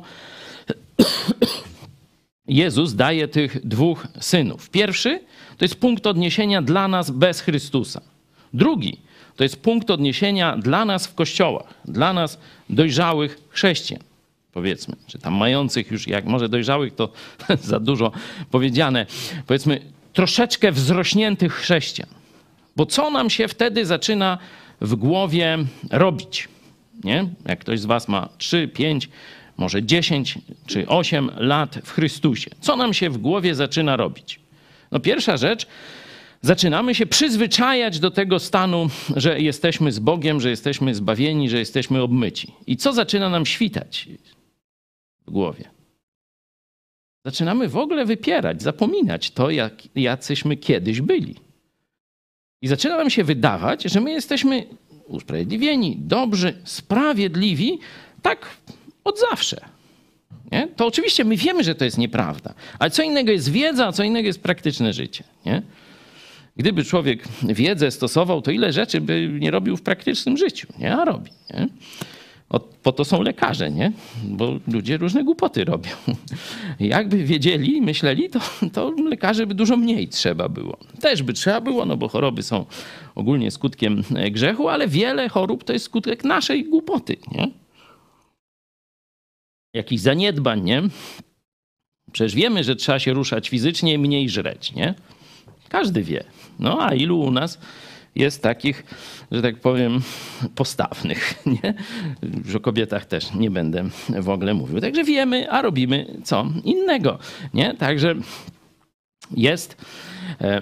Jezus daje tych dwóch synów. Pierwszy to jest punkt odniesienia dla nas bez Chrystusa. Drugi to jest punkt odniesienia dla nas w kościołach, dla nas dojrzałych chrześcijan. Powiedzmy, czy tam mających już, jak może dojrzałych, to za dużo powiedziane. Powiedzmy, troszeczkę wzrośniętych chrześcijan. Bo co nam się wtedy zaczyna w głowie robić? Nie? Jak ktoś z was ma trzy, pięć, może dziesięć czy osiem lat w Chrystusie. Co nam się w głowie zaczyna robić? No pierwsza rzecz, zaczynamy się przyzwyczajać do tego stanu, że jesteśmy z Bogiem, że jesteśmy zbawieni, że jesteśmy obmyci. I co zaczyna nam świtać w głowie? Zaczynamy w ogóle wypierać, zapominać to, jak, jacyśmy kiedyś byli. I zaczyna nam się wydawać, że my jesteśmy usprawiedliwieni, dobrzy, sprawiedliwi, tak od zawsze. Nie? To oczywiście my wiemy, że to jest nieprawda, ale co innego jest wiedza, a co innego jest praktyczne życie. Nie? Gdyby człowiek wiedzę stosował, to ile rzeczy by nie robił w praktycznym życiu, nie? A robi. Nie? O, po to są lekarze, nie? Bo ludzie różne głupoty robią. Jakby wiedzieli, myśleli, to, to lekarzy by dużo mniej trzeba było. Też by trzeba było, no bo choroby są ogólnie skutkiem grzechu, ale wiele chorób to jest skutek naszej głupoty, nie? Jakichś zaniedbań, nie? Przecież wiemy, że trzeba się ruszać fizycznie i mniej żreć, nie? Każdy wie. No a ilu u nas jest takich, że tak powiem, postawnych, nie? Już o kobietach też nie będę w ogóle mówił. Także wiemy, a robimy co innego, nie? Także jest e,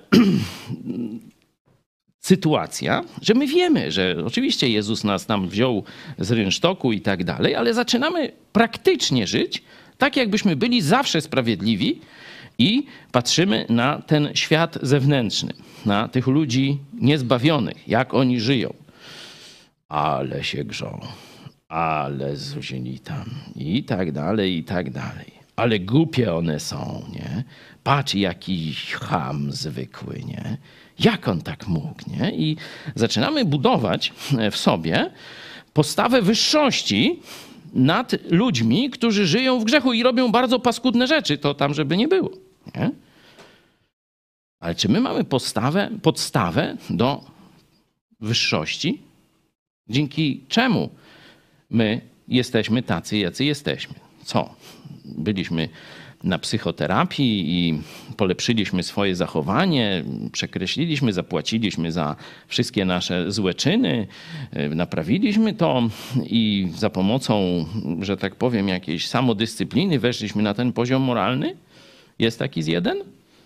sytuacja, że my wiemy, że oczywiście Jezus nas tam wziął z rynsztoku i tak dalej, ale zaczynamy praktycznie żyć tak, jakbyśmy byli zawsze sprawiedliwi i patrzymy na ten świat zewnętrzny, na tych ludzi niezbawionych, jak oni żyją. Ale się grzą, ale zuzili tam i tak dalej, i tak dalej. Ale głupie one są, nie? Patrz, jaki cham zwykły, nie? Jak on tak mógł, nie? I zaczynamy budować w sobie postawę wyższości nad ludźmi, którzy żyją w grzechu i robią bardzo paskudne rzeczy. To tam, żeby nie było, nie? Ale czy my mamy postawę, podstawę do wyższości? Dzięki czemu my jesteśmy tacy, jacy jesteśmy? Co? Byliśmy na psychoterapii i polepszyliśmy swoje zachowanie, przekreśliliśmy, zapłaciliśmy za wszystkie nasze złe czyny, naprawiliśmy to i za pomocą, że tak powiem, jakiejś samodyscypliny weszliśmy na ten poziom moralny? Jest taki z jeden?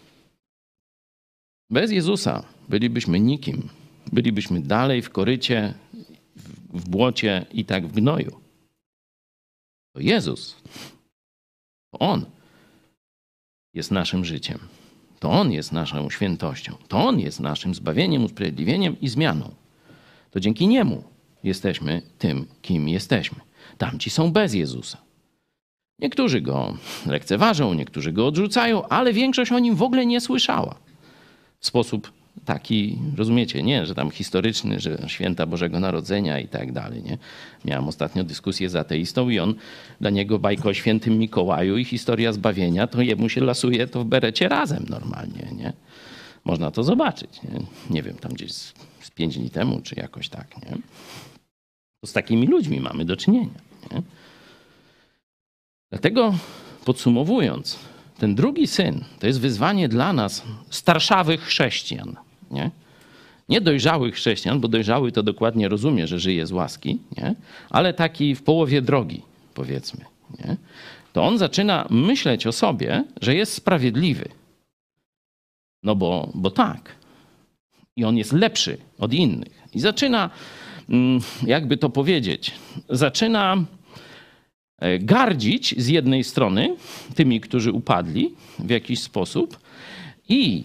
Bez Jezusa bylibyśmy nikim. Bylibyśmy dalej w korycie, w błocie i tak w gnoju. To Jezus, to On jest naszym życiem. To On jest naszą świętością. To On jest naszym zbawieniem, usprawiedliwieniem i zmianą. To dzięki Niemu jesteśmy tym, kim jesteśmy. Tamci są bez Jezusa. Niektórzy Go lekceważą, niektórzy Go odrzucają, ale większość o Nim w ogóle nie słyszała. W sposób taki, rozumiecie, nie, że tam historyczny, że święta Bożego Narodzenia i tak dalej, nie. Miałem ostatnio dyskusję z ateistą i on, dla niego bajka o świętym Mikołaju i historia zbawienia, to jemu się lasuje to w berecie razem normalnie, nie. Można to zobaczyć, nie, nie wiem, tam gdzieś z, z pięć dni temu, czy jakoś tak, nie. To z takimi ludźmi mamy do czynienia, nie. Dlatego podsumowując, ten drugi syn to jest wyzwanie dla nas, starszawych chrześcijan. Nie? Nie dojrzałych chrześcijan, bo dojrzały to dokładnie rozumie, że żyje z łaski, nie? Ale taki w połowie drogi, powiedzmy. Nie? To on zaczyna myśleć o sobie, że jest sprawiedliwy. No bo, bo tak. I on jest lepszy od innych. I zaczyna, jakby to powiedzieć, zaczyna gardzić z jednej strony tymi, którzy upadli w jakiś sposób i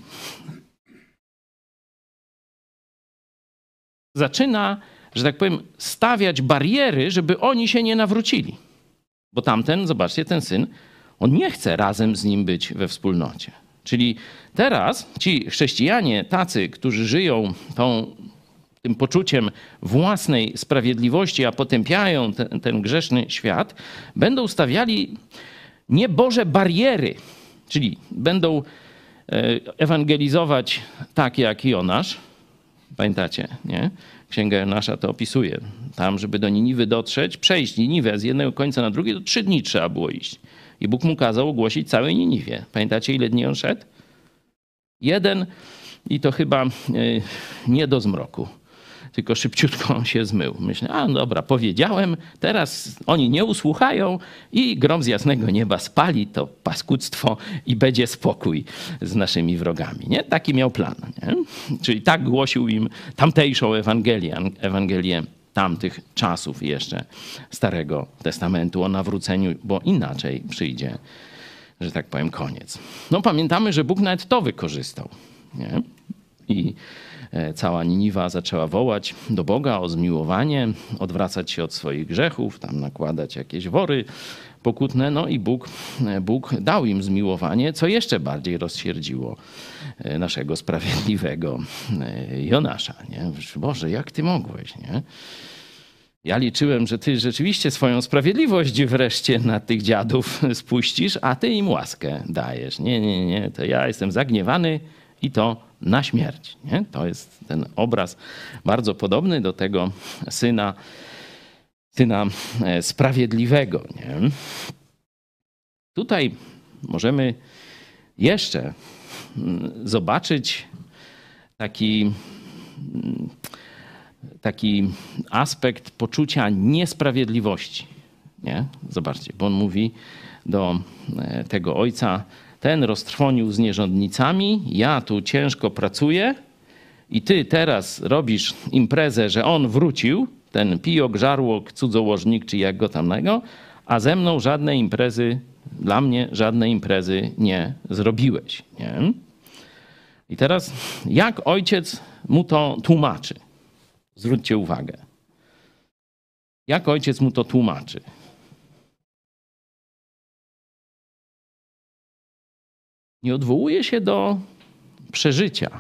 zaczyna, że tak powiem, stawiać bariery, żeby oni się nie nawrócili. Bo tamten, zobaczcie, ten syn, on nie chce razem z nim być we wspólnocie. Czyli teraz ci chrześcijanie tacy, którzy żyją tą tym poczuciem własnej sprawiedliwości, a potępiają ten, ten grzeszny świat, będą stawiali nieboże bariery, czyli będą ewangelizować tak jak Jonasz. Pamiętacie, nie? Księga Jonasza to opisuje. Tam, żeby do Niniwy dotrzeć, przejść Niniwę z jednego końca na drugi, to trzy dni trzeba było iść. I Bóg mu kazał ogłosić całej Niniwie. Pamiętacie, ile dni on szedł? Jeden i to chyba nie do zmroku, tylko szybciutko się zmył. Myślę, a dobra, powiedziałem, teraz oni nie usłuchają i grom z jasnego nieba spali to paskudztwo i będzie spokój z naszymi wrogami. Nie? Taki miał plan. Nie? Czyli tak głosił im tamtejszą Ewangelię, Ewangelię tamtych czasów jeszcze Starego Testamentu o nawróceniu, bo inaczej przyjdzie, że tak powiem, koniec. No pamiętamy, że Bóg nawet to wykorzystał. Nie? I cała Niniwa zaczęła wołać do Boga o zmiłowanie, odwracać się od swoich grzechów, tam nakładać jakieś wory pokutne. No i Bóg, Bóg dał im zmiłowanie, co jeszcze bardziej rozsierdziło naszego sprawiedliwego Jonasza. Nie? Boże, jak ty mogłeś, nie? Ja liczyłem, że ty rzeczywiście swoją sprawiedliwość wreszcie na tych dziadów spuścisz, a ty im łaskę dajesz. Nie, nie, nie, to ja jestem zagniewany i to na śmierć. Nie? To jest ten obraz bardzo podobny do tego syna, syna sprawiedliwego. Nie? Tutaj możemy jeszcze zobaczyć taki, taki aspekt poczucia niesprawiedliwości. Nie? Zobaczcie, bo on mówi do tego ojca: ten roztrwonił z nierządnicami, ja tu ciężko pracuję i ty teraz robisz imprezę, że on wrócił, ten pijok, żarłok, cudzołożnik, czy jak go tam nego, a ze mną żadnej imprezy, dla mnie żadnej imprezy nie zrobiłeś. Nie? I teraz jak ojciec mu to tłumaczy? Zwróćcie uwagę. Jak ojciec mu to tłumaczy? Nie odwołuje się do przeżycia.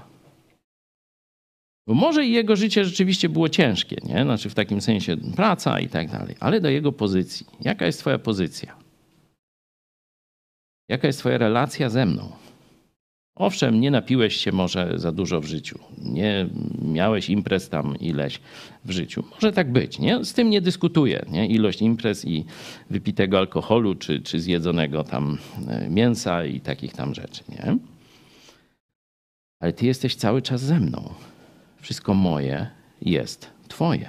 Bo może i jego życie rzeczywiście było ciężkie, nie? Znaczy w takim sensie praca i tak dalej, ale do jego pozycji. Jaka jest twoja pozycja? Jaka jest twoja relacja ze mną? Owszem, nie napiłeś się może za dużo w życiu. Nie miałeś imprez tam ileś w życiu. Może tak być, nie? Z tym nie dyskutuję, nie? Ilość imprez i wypitego alkoholu, czy, czy zjedzonego tam mięsa i takich tam rzeczy, nie? Ale ty jesteś cały czas ze mną. Wszystko moje jest twoje.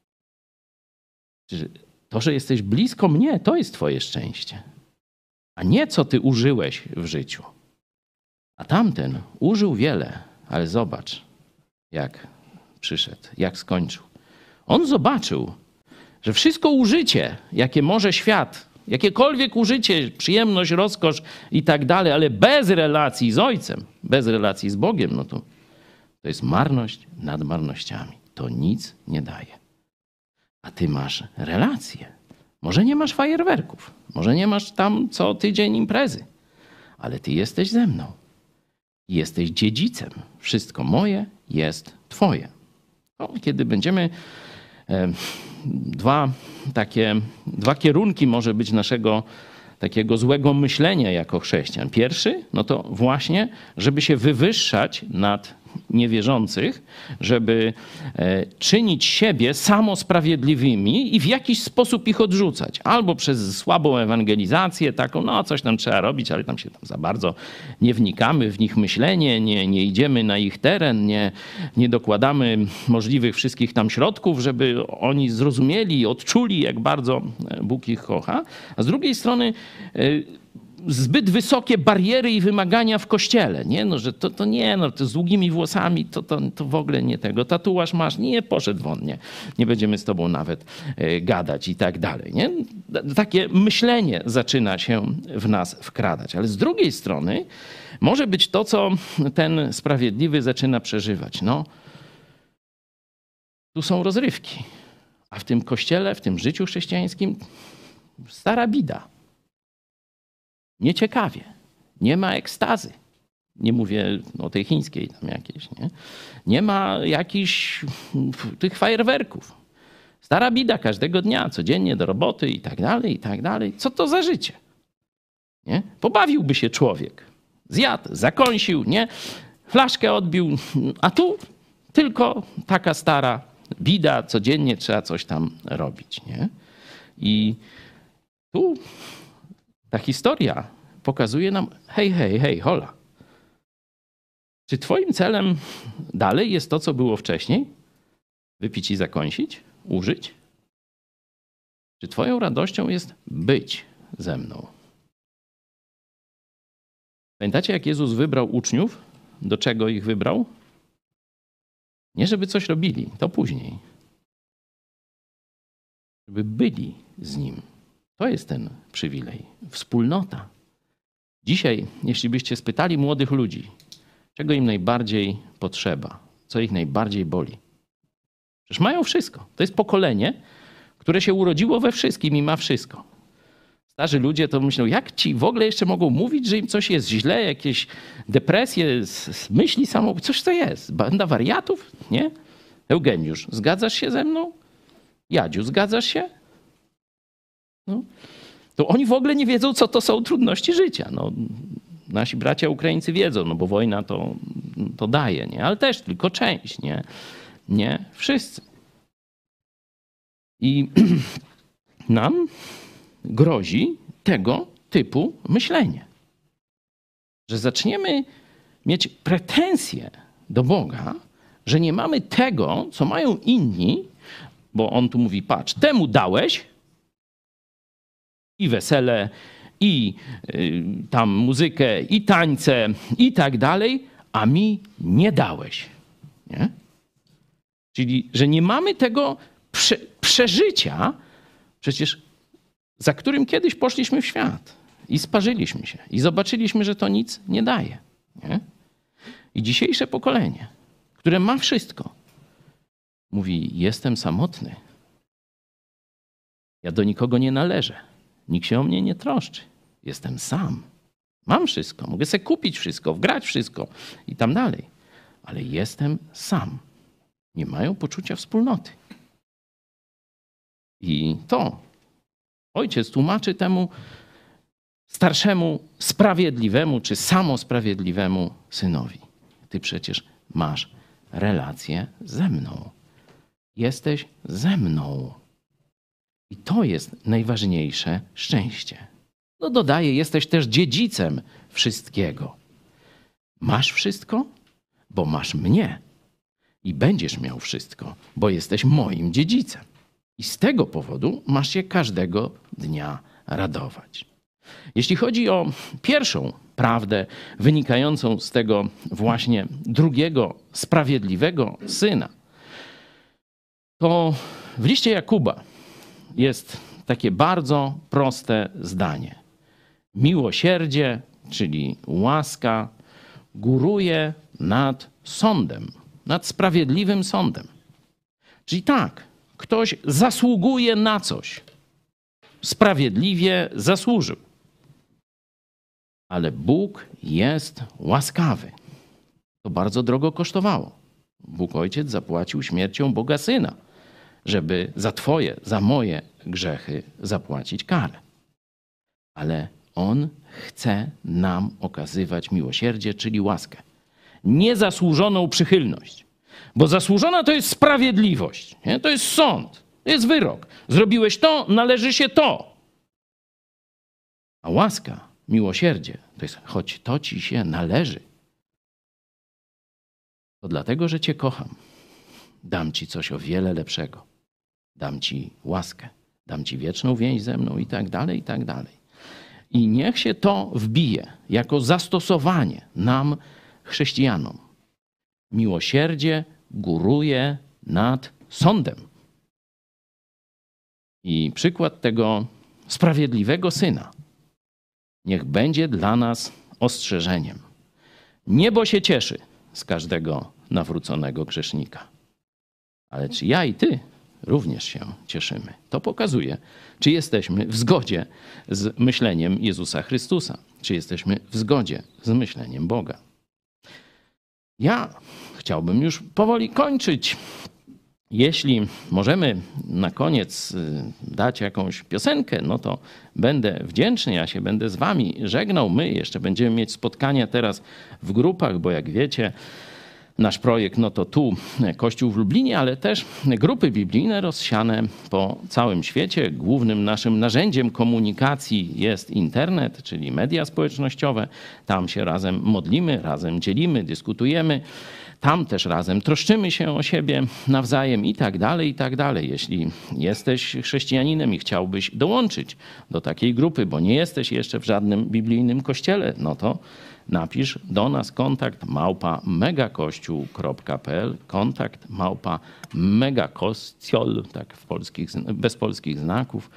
To, że jesteś blisko mnie, to jest twoje szczęście. A nie co ty użyłeś w życiu. A tamten użył wiele, ale zobacz, jak przyszedł, jak skończył. On zobaczył, że wszystko użycie, jakie może świat, jakiekolwiek użycie, przyjemność, rozkosz i tak dalej, ale bez relacji z Ojcem, bez relacji z Bogiem, no to to jest marność nad marnościami. To nic nie daje. A ty masz relacje. Może nie masz fajerwerków, może nie masz tam co tydzień imprezy, ale ty jesteś ze mną. Jesteś dziedzicem. Wszystko moje jest twoje. No, kiedy będziemy e, dwa takie, dwa kierunki może być naszego takiego złego myślenia jako chrześcijan. Pierwszy, no to właśnie, żeby się wywyższać nad niewierzących, żeby e, czynić siebie samosprawiedliwymi i w jakiś sposób ich odrzucać. Albo przez słabą ewangelizację taką, no coś tam trzeba robić, ale tam się tam za bardzo nie wnikamy w nich myślenie, nie, nie idziemy na ich teren, nie, nie dokładamy możliwych wszystkich tam środków, żeby oni zrozumieli, odczuli, jak bardzo Bóg ich kocha. A z drugiej strony e, zbyt wysokie bariery i wymagania w kościele, nie? No, że to, to nie, no, to z długimi włosami, to, to, to w ogóle nie tego. Tatuaż masz, nie, poszedł won, nie. Nie będziemy z tobą nawet y, gadać i tak dalej, nie? Takie myślenie zaczyna się w nas wkradać. Ale z drugiej strony może być to, co ten sprawiedliwy zaczyna przeżywać. No, tu są rozrywki, a w tym kościele, w tym życiu chrześcijańskim stara bida. Nieciekawie. Nie ma ekstazy. Nie mówię o tej chińskiej tam jakiejś, nie? Nie ma jakichś tych fajerwerków. Stara bida każdego dnia, codziennie do roboty i tak dalej, i tak dalej. Co to za życie? Nie? Pobawiłby się człowiek. Zjadł, zakąsił, nie? Flaszkę odbił, a tu tylko taka stara bida, codziennie trzeba coś tam robić, nie? I tu ta historia pokazuje nam, hej, hej, hej, hola. Czy twoim celem dalej jest to, co było wcześniej? Wypić i zakąsić? Użyć? Czy twoją radością jest być ze mną? Pamiętacie, jak Jezus wybrał uczniów? Do czego ich wybrał? Nie, żeby coś robili, to później. Żeby byli z Nim. To jest ten przywilej. Wspólnota. Dzisiaj, jeśli byście spytali młodych ludzi, czego im najbardziej potrzeba, co ich najbardziej boli. Przecież mają wszystko. To jest pokolenie, które się urodziło we wszystkim i ma wszystko. Starzy ludzie to myślą, jak ci w ogóle jeszcze mogą mówić, że im coś jest źle, jakieś depresje, myśli samobójcze, coś to jest. Banda wariatów? Nie? Eugeniusz, zgadzasz się ze mną? Jadziu, zgadzasz się? No. To oni w ogóle nie wiedzą, co to są trudności życia. No, nasi bracia Ukraińcy wiedzą, no bo wojna to, to daje, nie? Ale też tylko część, nie? Nie wszyscy. I nam grozi tego typu myślenie. Że zaczniemy mieć pretensje do Boga, że nie mamy tego, co mają inni, bo on tu mówi, patrz, temu dałeś i wesele, i y, tam muzykę, i tańce, i tak dalej, a mi nie dałeś. Nie? Czyli, że nie mamy tego prze, przeżycia, przecież za którym kiedyś poszliśmy w świat i sparzyliśmy się i zobaczyliśmy, że to nic nie daje. Nie? I dzisiejsze pokolenie, które ma wszystko, mówi, jestem samotny. Ja do nikogo nie należę. Nikt się o mnie nie troszczy. Jestem sam. Mam wszystko. Mogę sobie kupić wszystko, wgrać wszystko i tam dalej. Ale jestem sam. Nie mają poczucia wspólnoty. I to ojciec tłumaczy temu starszemu, sprawiedliwemu czy samosprawiedliwemu synowi. Ty przecież masz relację ze mną. Jesteś ze mną. I to jest najważniejsze szczęście. No dodaje, jesteś też dziedzicem wszystkiego. Masz wszystko, bo masz mnie. I będziesz miał wszystko, bo jesteś moim dziedzicem. I z tego powodu masz się każdego dnia radować. Jeśli chodzi o pierwszą prawdę wynikającą z tego właśnie drugiego sprawiedliwego syna, to w liście Jakuba jest takie bardzo proste zdanie. Miłosierdzie, czyli łaska, góruje nad sądem, nad sprawiedliwym sądem. Czyli tak, ktoś zasługuje na coś. Sprawiedliwie zasłużył. Ale Bóg jest łaskawy. To bardzo drogo kosztowało. Bóg Ojciec zapłacił śmiercią Boga Syna, żeby za twoje, za moje grzechy zapłacić karę. Ale On chce nam okazywać miłosierdzie, czyli łaskę. Niezasłużoną przychylność. Bo zasłużona to jest sprawiedliwość. Nie? To jest sąd. To jest wyrok. Zrobiłeś to, należy się to. A łaska, miłosierdzie, to jest choć to ci się należy. To dlatego, że cię kocham. Dam ci coś o wiele lepszego. Dam ci łaskę. Dam ci wieczną więź ze mną i tak dalej, i tak dalej. I niech się to wbije jako zastosowanie nam, chrześcijanom. Miłosierdzie góruje nad sądem. I przykład tego sprawiedliwego syna niech będzie dla nas ostrzeżeniem. Niebo się cieszy z każdego nawróconego grzesznika. Ale czy ja i ty również się cieszymy? To pokazuje, czy jesteśmy w zgodzie z myśleniem Jezusa Chrystusa. Czy jesteśmy w zgodzie z myśleniem Boga. Ja chciałbym już powoli kończyć. Jeśli możemy na koniec dać jakąś piosenkę, no to będę wdzięczny, ja się będę z wami żegnał. My jeszcze będziemy mieć spotkania teraz w grupach, bo jak wiecie, nasz projekt, no to tu Kościół w Lublinie, ale też grupy biblijne rozsiane po całym świecie. Głównym naszym narzędziem komunikacji jest internet, czyli media społecznościowe. Tam się razem modlimy, razem dzielimy, dyskutujemy. Tam też razem troszczymy się o siebie nawzajem i tak dalej, i tak dalej. Jeśli jesteś chrześcijaninem i chciałbyś dołączyć do takiej grupy, bo nie jesteś jeszcze w żadnym biblijnym kościele, no to napisz do nas kontakt małpa megakościół kropka p l, kontakt małpa megakościol, tak w polskich, bez polskich znaków,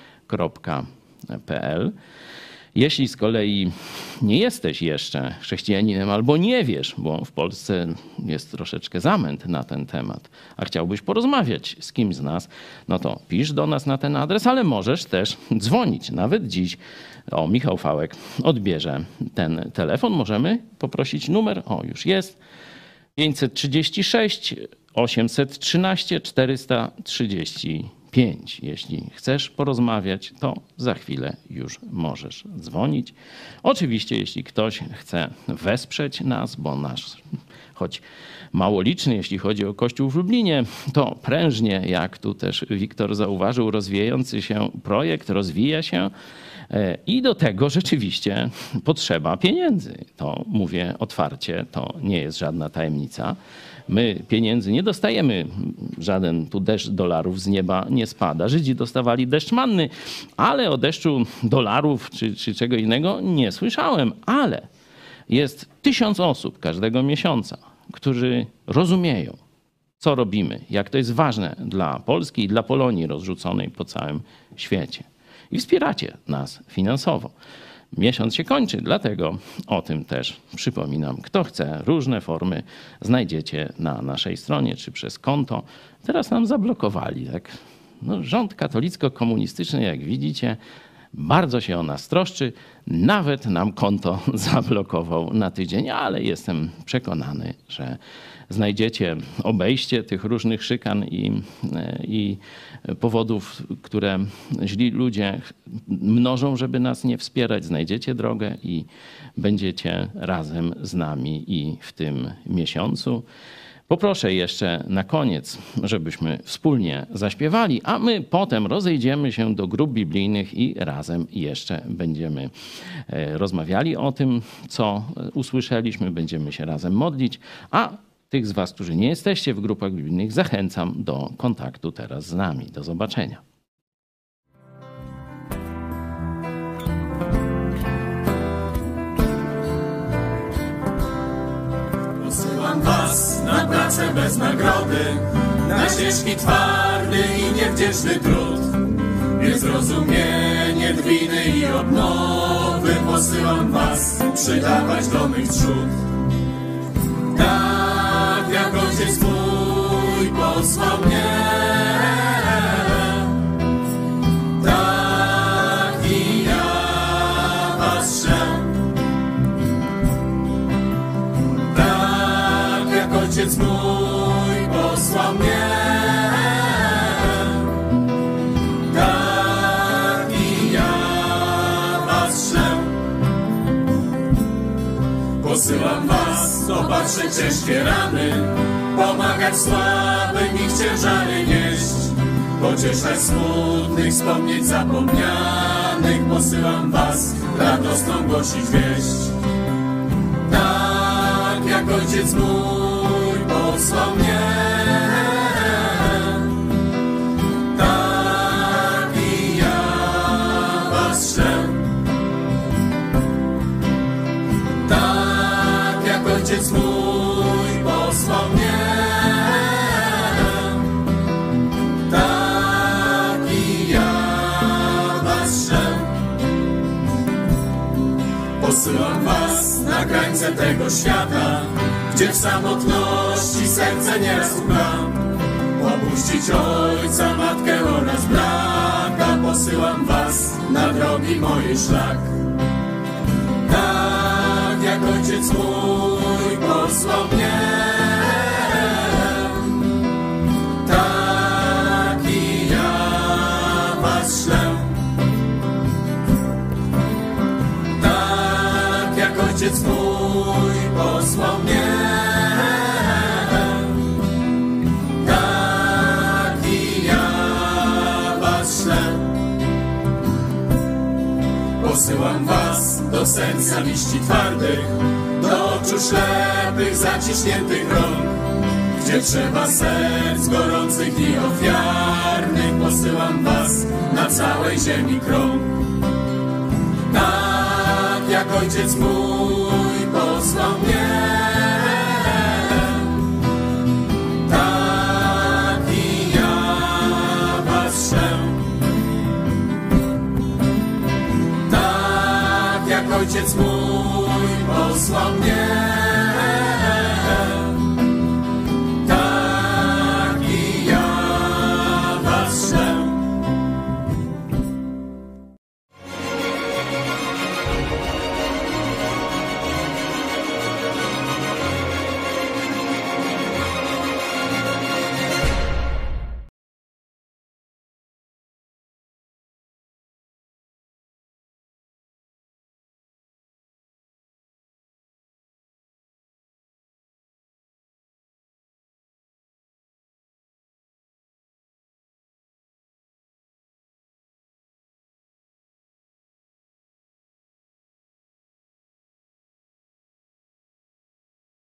.pl. Jeśli z kolei nie jesteś jeszcze chrześcijaninem albo nie wiesz, bo w Polsce jest troszeczkę zamęt na ten temat, a chciałbyś porozmawiać z kimś z nas, no to pisz do nas na ten adres, ale możesz też dzwonić. Nawet dziś, o, Michał Fałek odbierze ten telefon. Możemy poprosić numer, o, już jest, pięćset trzydzieści sześć osiemset trzynaście czterysta trzydzieści pięć. Jeśli chcesz porozmawiać, to za chwilę już możesz dzwonić. Oczywiście, jeśli ktoś chce wesprzeć nas, bo nasz, choć mało liczny, jeśli chodzi o Kościół w Lublinie, to prężnie, jak tu też Wiktor zauważył, rozwijający się projekt rozwija się i do tego rzeczywiście potrzeba pieniędzy. To mówię otwarcie, to nie jest żadna tajemnica. My pieniędzy nie dostajemy, żaden tu deszcz dolarów z nieba nie spada. Żydzi dostawali deszcz manny, ale o deszczu dolarów czy, czy czego innego nie słyszałem. Ale jest tysiąc osób każdego miesiąca, którzy rozumieją, co robimy, jak to jest ważne dla Polski i dla Polonii rozrzuconej po całym świecie. I wspieracie nas finansowo. Miesiąc się kończy, dlatego o tym też przypominam. Kto chce, różne formy znajdziecie na naszej stronie czy przez konto. Teraz nam zablokowali. Tak? No, rząd katolicko-komunistyczny, jak widzicie, bardzo się o nas troszczy. Nawet nam konto zablokował na tydzień, ale jestem przekonany, że znajdziecie obejście tych różnych szykan i, i powodów, które źli ludzie mnożą, żeby nas nie wspierać. Znajdziecie drogę i będziecie razem z nami i w tym miesiącu. Poproszę jeszcze na koniec, żebyśmy wspólnie zaśpiewali, a my potem rozejdziemy się do grup biblijnych i razem jeszcze będziemy rozmawiali o tym, co usłyszeliśmy, będziemy się razem modlić, a tych z was, którzy nie jesteście w grupach biblijnych, zachęcam do kontaktu teraz z nami. Do zobaczenia. Posyłam was na pracę bez nagrody, na ciężki, twardy i niewdzięczny trud. Niezrozumienie, drwiny i obnowy. Posyłam was przydawać do mych trzód. Tak jak Ojciec mój posłał mnie, tak i ja was szę. Tak jak Ojciec mój posłał mnie, tak i ja was szę. Posyłam was opatrzeć ciężkie rany, pomagać słabym ich ciężary nieść, pocieszać smutnych, wspomnieć zapomnianych. Posyłam was radosną głosić wieść. Tak jak Ojciec mój posłał mnie, tak i ja was szę. Tak jak Ojciec mój posłał mnie, tak i ja was szę. Posyłam was na krańce tego świata, gdzie w samotności serce nieraz łka. Opuścić ojca, matkę oraz brata. Posyłam was na drogi mojej szlak. Tak jak Ojciec mój posłał mnie, tak i ja was szlę. Tak jak Ojciec mój posłał mnie, posyłam was do serca liści twardych, do oczu ślepych, zaciśniętych rąk, gdzie trzeba serc gorących i ofiarnych. Posyłam was na całej ziemi krąg. Tak jak Ojciec mój posłał mnie, tak i ja was ślę. Tak jak Ojciec mój posłał mnie,